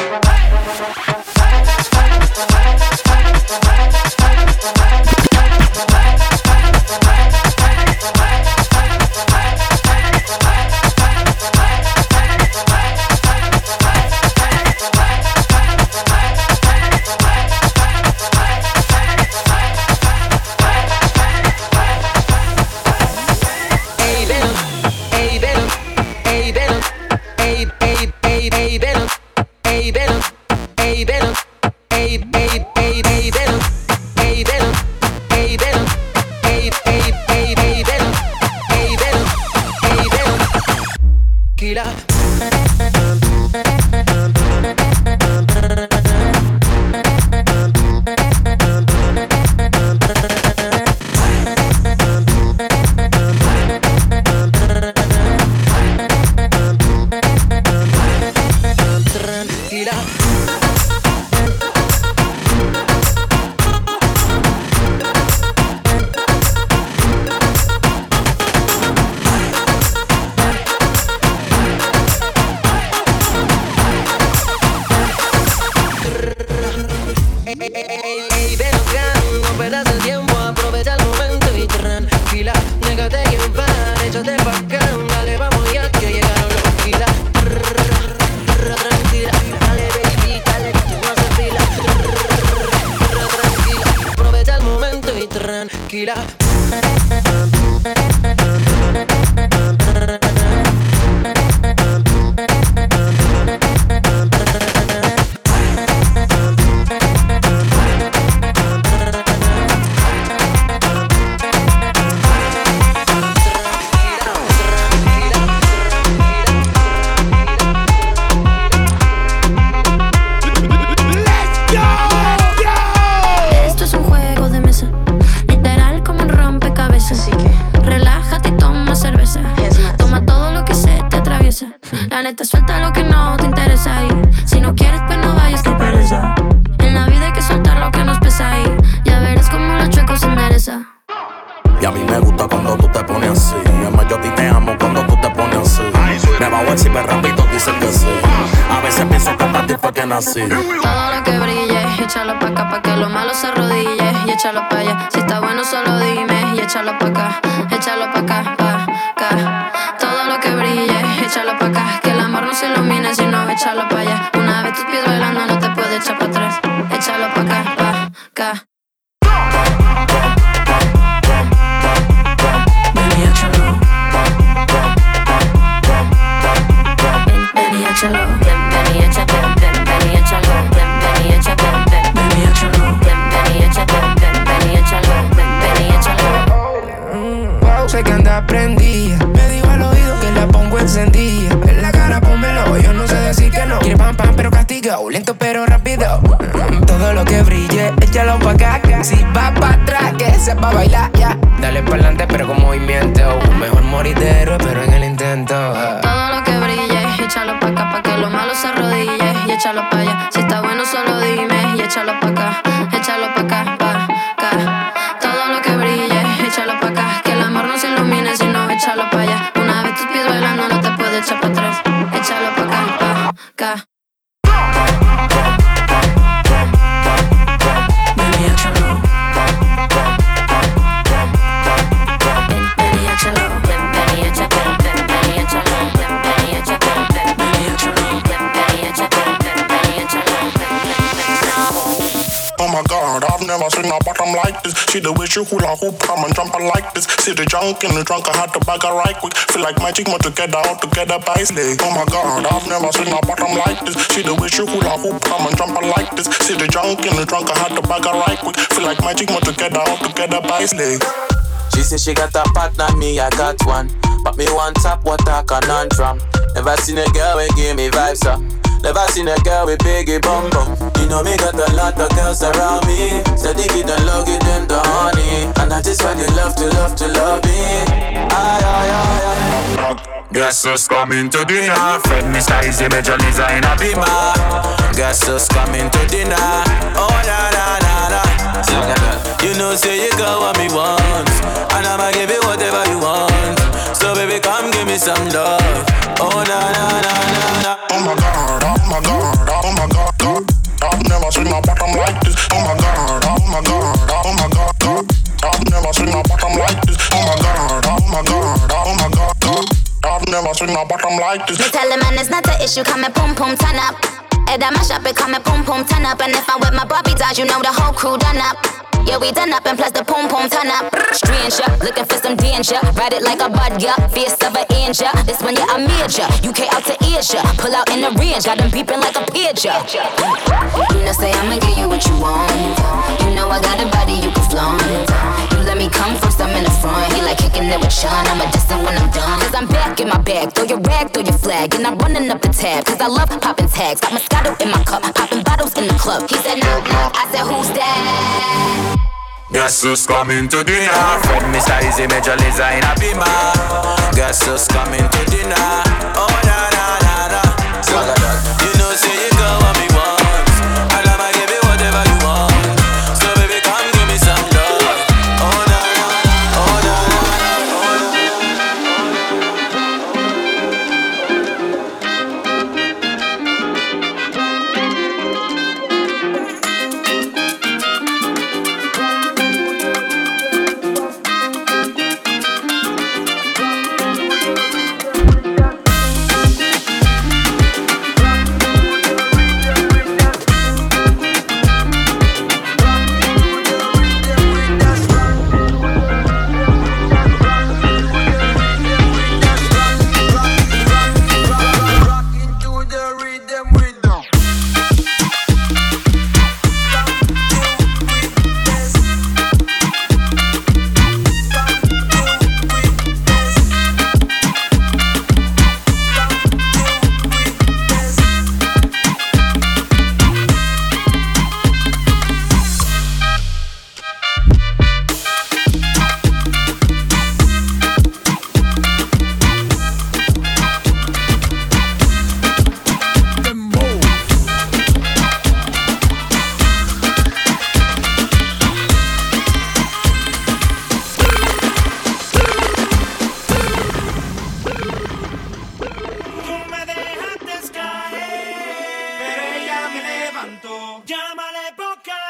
Tranquila. tranquila. La neta, suelta lo que no te interesa y si no quieres, pues no vayas, que pereza. En la vida hay que soltar lo que nos pesa y ya verás como los chuecos se endereza. Y a mí me gusta cuando tú te pones así. Además yo a ti te amo cuando tú te pones así. Me bajo encima rápido, dicen que sí. A veces pienso que para ti fue que nací. Todo lo que brille, échalo pa' acá pa' que lo malo se arrodille y échalo pa' allá. Si está bueno solo dime y échalo pa' acá, échalo pa' acá, pa' acá. Todo lo que brille, échalo pa' acá, que el amor no se ilumine si no, échalo pa' allá. Una vez tus pies bailando no te puedes echar pa' atrás, échalo pa' acá, pa' acá. Ven y échalo. Ven y échalo. Ven y échalo. Ven y échalo. Ven y échalo. Ven y échalo. Ven y échalo. Ven y échalo. Ven y échalo. Wow, sé que anda prendida. Me dijo al oído que la pongo encendida. En la cara pónmelo, yo no sé decir que no. Quiere pam pam pero castigado, lento pero rápido. Mm, todo lo que brille, échalo pa' acá. Si va pa' atrás, que sepa bailar, ya. Yeah. Dale pa'lante pero con movimiento. Mejor morir de héroe pero en el intento. Todo lo que brille, échalo pa' acá pa' que lo malo se arrodille y échalo pa' allá. Si está bueno solo dime y échalo pa' acá, échalo pa' acá, pa' acá. Todo lo que brille, échalo pa' acá, que el amor no se ilumine si no, échalo pa' allá. Una vez tus pies bailando no te puedes echar pa' atrás, échalo pa' acá, pa' acá. Ven y échalo. Ven y échalo. Ven y échalo. Ven y échalo. Ven y échalo. Ven y échalo. Ven y échalo. Ven y échalo. Oh my God, I've never seen a bottom like this. See the way she hula hoop, come and jump like this. See the junk in the trunk, I had to bag her right quick. Feel like magic, more together, all together by slay. Oh my God, I've never seen a bottom like this. See the way she hula hoop, come and jump like this. See the junk in the trunk, I had to bag her right quick. Feel like magic, more together, all together by slay. She said she got a partner, me I got one. But me one top, what a conundrum. Never seen a girl who give me vibes up. Never seen a girl with biggie bum bum. You know me got a lot of girls around me. Steady it and love it and the honey. And that is why they love to love to love me. Aye, aye, aye, aye. Guess who's coming to dinner? Fred Mister Easy Major Liza in a beamer. Guess who's coming to dinner? Oh na na na na. You know say you got what me want, and I'ma give you whatever you want. So baby come give me some love. Oh na na na na na. Oh my God, oh my God, oh my God, God. I've never seen a bottom like this. Oh my God, oh my God, oh my God, God. I've never seen a bottom like this. Oh my God, oh my God, oh my God, God. I've never seen a bottom like this. Me tell the man it's not an issue, come and pum pum turn up. And I mash up and come and pum pum turn up. And if I'm with my Barbie dolls, you know the whole crew done up. Yeah, we done up and plus the pum pum turn up. Stranger, looking for some danger. Ride it like a bud, yeah, face of an angel. This one, yeah, I'm major. U K out to Asia. Pull out in the range, got them peeping like a pager. You know, say I'ma give you what you want. You know I got a body you can flaunt. You let me come first, I'm in the front. He like kicking it with Sean, I'ma diss him when I'm done. Cause I'm back in my bag, throw your rag, throw your flag. And I'm running up the tab, cause I love popping tags. Got Moscato in my cup, popping bottles in the club. He said knock knock, I said who's that? Guess who's coming to dinner? Fred Mister Easy Major Liza in a beamer. Guess who's coming to dinner? Oh na na na na. So you know say you got what me want, and I'ma give you whatever you want. So baby come give me some love. Oh na na, oh na na, oh na.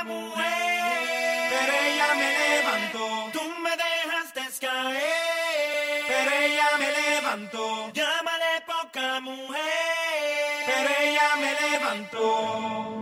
mujer, pero ella me levantó. Tú me dejaste caer, pero ella me levantó. Llámale poca mujer, pero ella me levantó.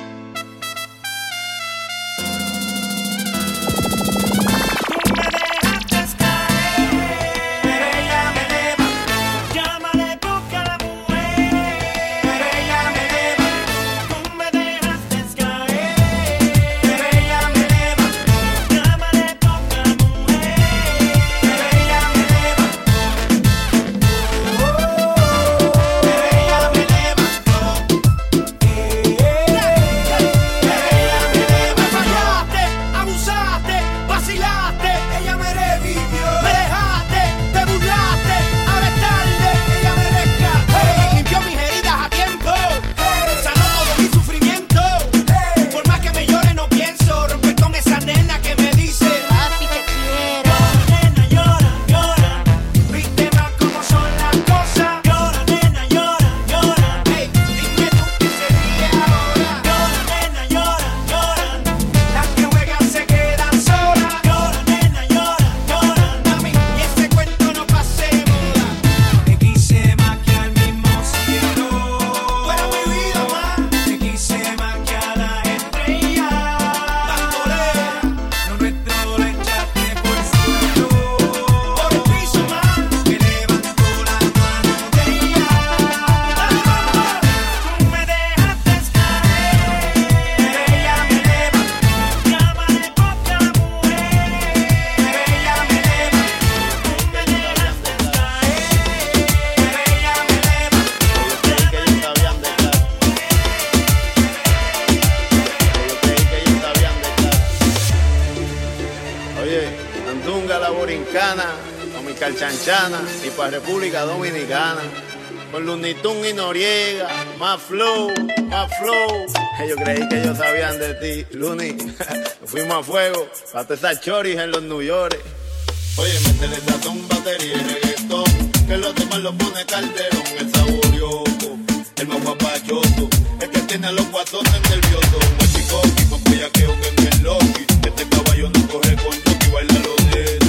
Chanchana y para República Dominicana con Looney Tunes y Noriega, más flow, más flow. Yo creí que ellos sabían de ti, Looney. Fuimos a fuego para todas esas choris en los New York. Oye, métele sazón, batería y reggaetón, que los demás lo pone Calderón, el saborioso, el más guapachoso, el que tiene a los guatones nerviosos, un chico y con bellaqueo que es el Loki. Este caballo no coge con Chucky, baila lo nena.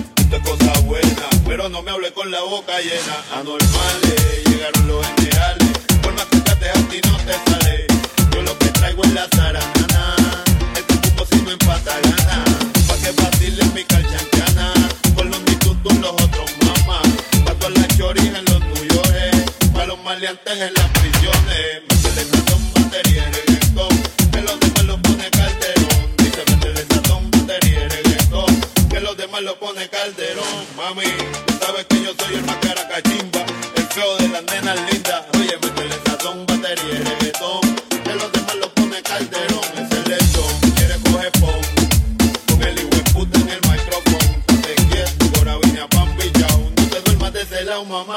Cosa buena, pero no me hablé con la boca llena. Anormales, llegaron los generales. Por más que trates a ti no te sale. Yo lo que traigo es la zaranana. El cupo si no empata gana. Pa' que vacile mi calchanchana. Con los nitutos los otros mamás. Pa' todas las choris en los New York. Pa' los maleantes en las prisiones. Métele sazón, batería y reggaetón, que los demás lo pone Calderón. Dice métele sazón, batería y reggaetón, que los demás lo pone Calderón. Mami, tú sabes que yo soy el más caracachimba, el feo de las nenas lindas. Oye, métele sazón, batería y reggaetón, que los demás lo pone Calderón. Es el lechón, quiere coger pon, con el hijo de puta en el micrófono. Te quieto, ahora vine a Pambichao. No te duermas de ese lado, mamá.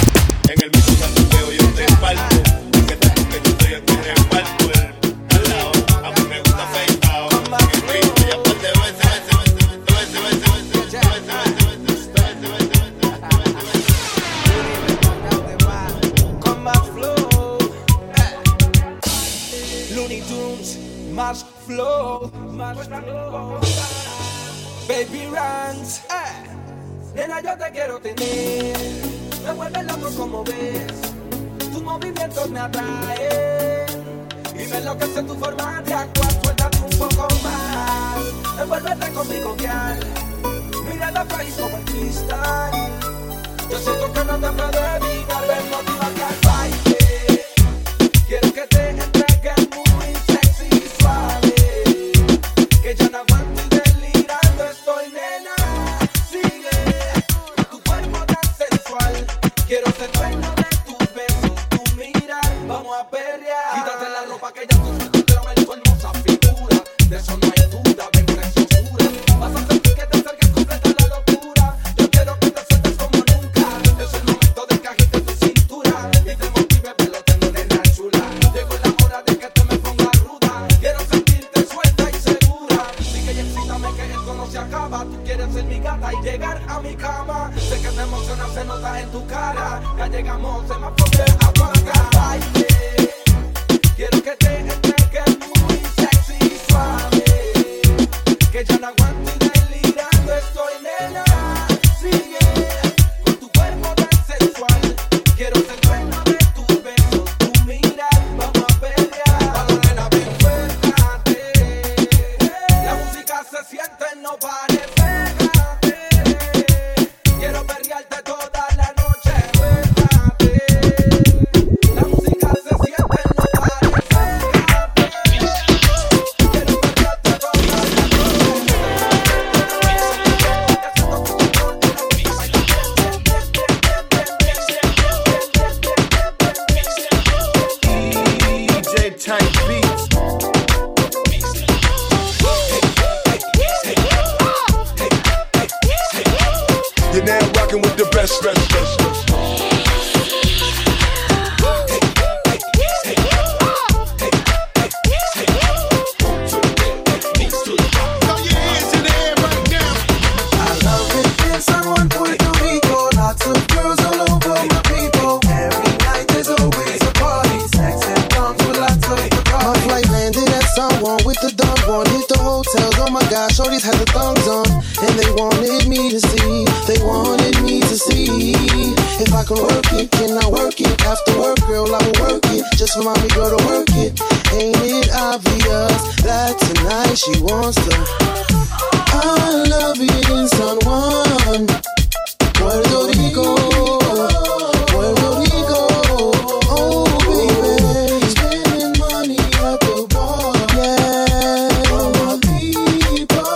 En el mismo santuqueo yo te parto, que te que yo soy el que reparto el al lado. A mí me gusta afeitado, en el pinto y aparte de veces, veces, veces, veces, veces, Looney Tunes, más flow, más flow. Baby Ranks, eh. Nena, yo te quiero tener. Me vuelve loco como ves. Tus movimientos me atraen. Y me enloquece tu forma de actuar. Suéltate un poco más. Envuélvete conmigo, girl. Mira la país como el cristal. Yo siento que no te puedo evitar. Ven, motívate al baile. Quiero que te entregues muy sexy y suave. Que ya no aguanto y delirando estoy, nena. Sigue tu cuerpo tan sensual. Quiero ser dueño de tus besos, tu mirar. Vamos a perrear. Quítate la ropa que ya tú sueltas, pero ven tu hermosa figura. De eso no hay duda, ven preciosura. Vas a sentir que te acerques completa la locura. Yo quiero que te sueltes como nunca. Es el momento de que agites tu cintura y te motive, pero lo tengo de la chula. Llegó la hora de que te me pongas ruda. Quiero sentirte suelta y segura. Sigue y excítame que esto no se acaba. Tú quieres ser mi gata y llegar a mi cama. Sé que te emociona, se nota en tu cara. Ya llegamos, se me apoya, apaga. Baile. Quiero que te entregues muy sexy y suave. round one, hit the hotels. Oh my gosh, shorties had the thongs on, and they wanted me to see. They wanted me to see if I can work it. Can I work it? After work, girl, I will work it. Just for mommy, girl, to work it. Ain't it obvious that tonight she wants to? I love it in San Juan, Puerto Rico, Puerto Rico. Oh baby, spending money at the bar, yeah. All my people,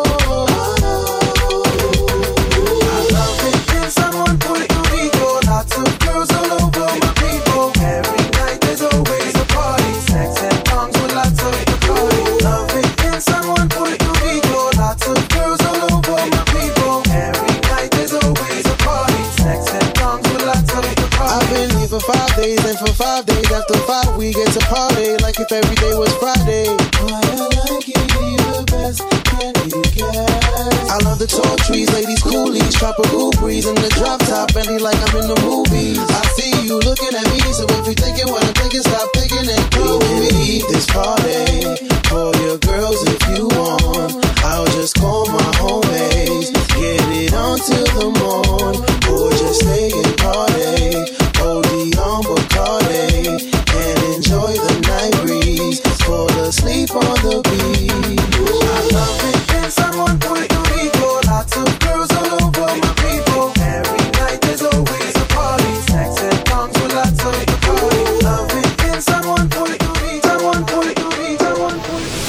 I love it in San Juan, Puerto Rico. Lots of girls all over my people. Every night there's always a party. Sex and tongues with lots of Bacardi. Love it in San Juan, Puerto Rico. Lots of girls all over my people. Every night there's always a party. Sex and tongues with lots of Bacardi. I've been here for five days, and for five days after five we get to party like if every day was Friday. Why I like it, be the best, can you guess? I love the tall trees, ladies, coolies, tropical breeze in the drop top, Bentley like I'm in the movies. I see you looking at me, so if you thinking what I'm thinking, stop thinking and come with me. This party for your girls if you want. I'll just call my homies, get it on till the morn, or just stay and party. O D on Bacardi and enjoy the night breeze. Fall asleep on the beach. I love it in San Juan, Puerto Rico. Lots of girls all over my people. Every night there's always a party. Sex and tongues with lots of Bacardi. Love it in San Juan, Puerto Rico. San Juan, Puerto Rico. San Juan, Puerto Rico.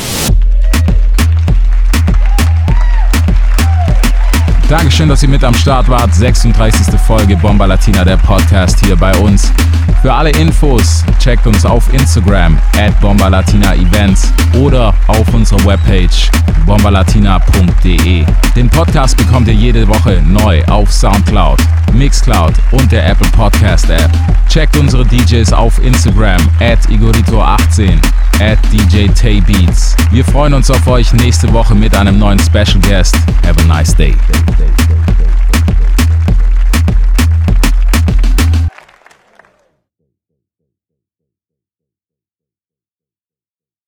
Dankeschön, dass ihr mit am Start wart. sechsunddreißigste Folge Bomba Latina, der Podcast hier bei uns. Für alle Infos checkt uns auf Instagram at bomba latina events oder auf unserer Webpage bomba latina punkt de. Den Podcast bekommt ihr jede Woche neu auf Soundcloud, Mixcloud und der Apple Podcast App. Checkt unsere D Js auf Instagram at igorito achtzehn, at D J Tay Beats. Wir freuen uns auf euch nächste Woche mit einem neuen Special Guest. Have a nice day. day, day.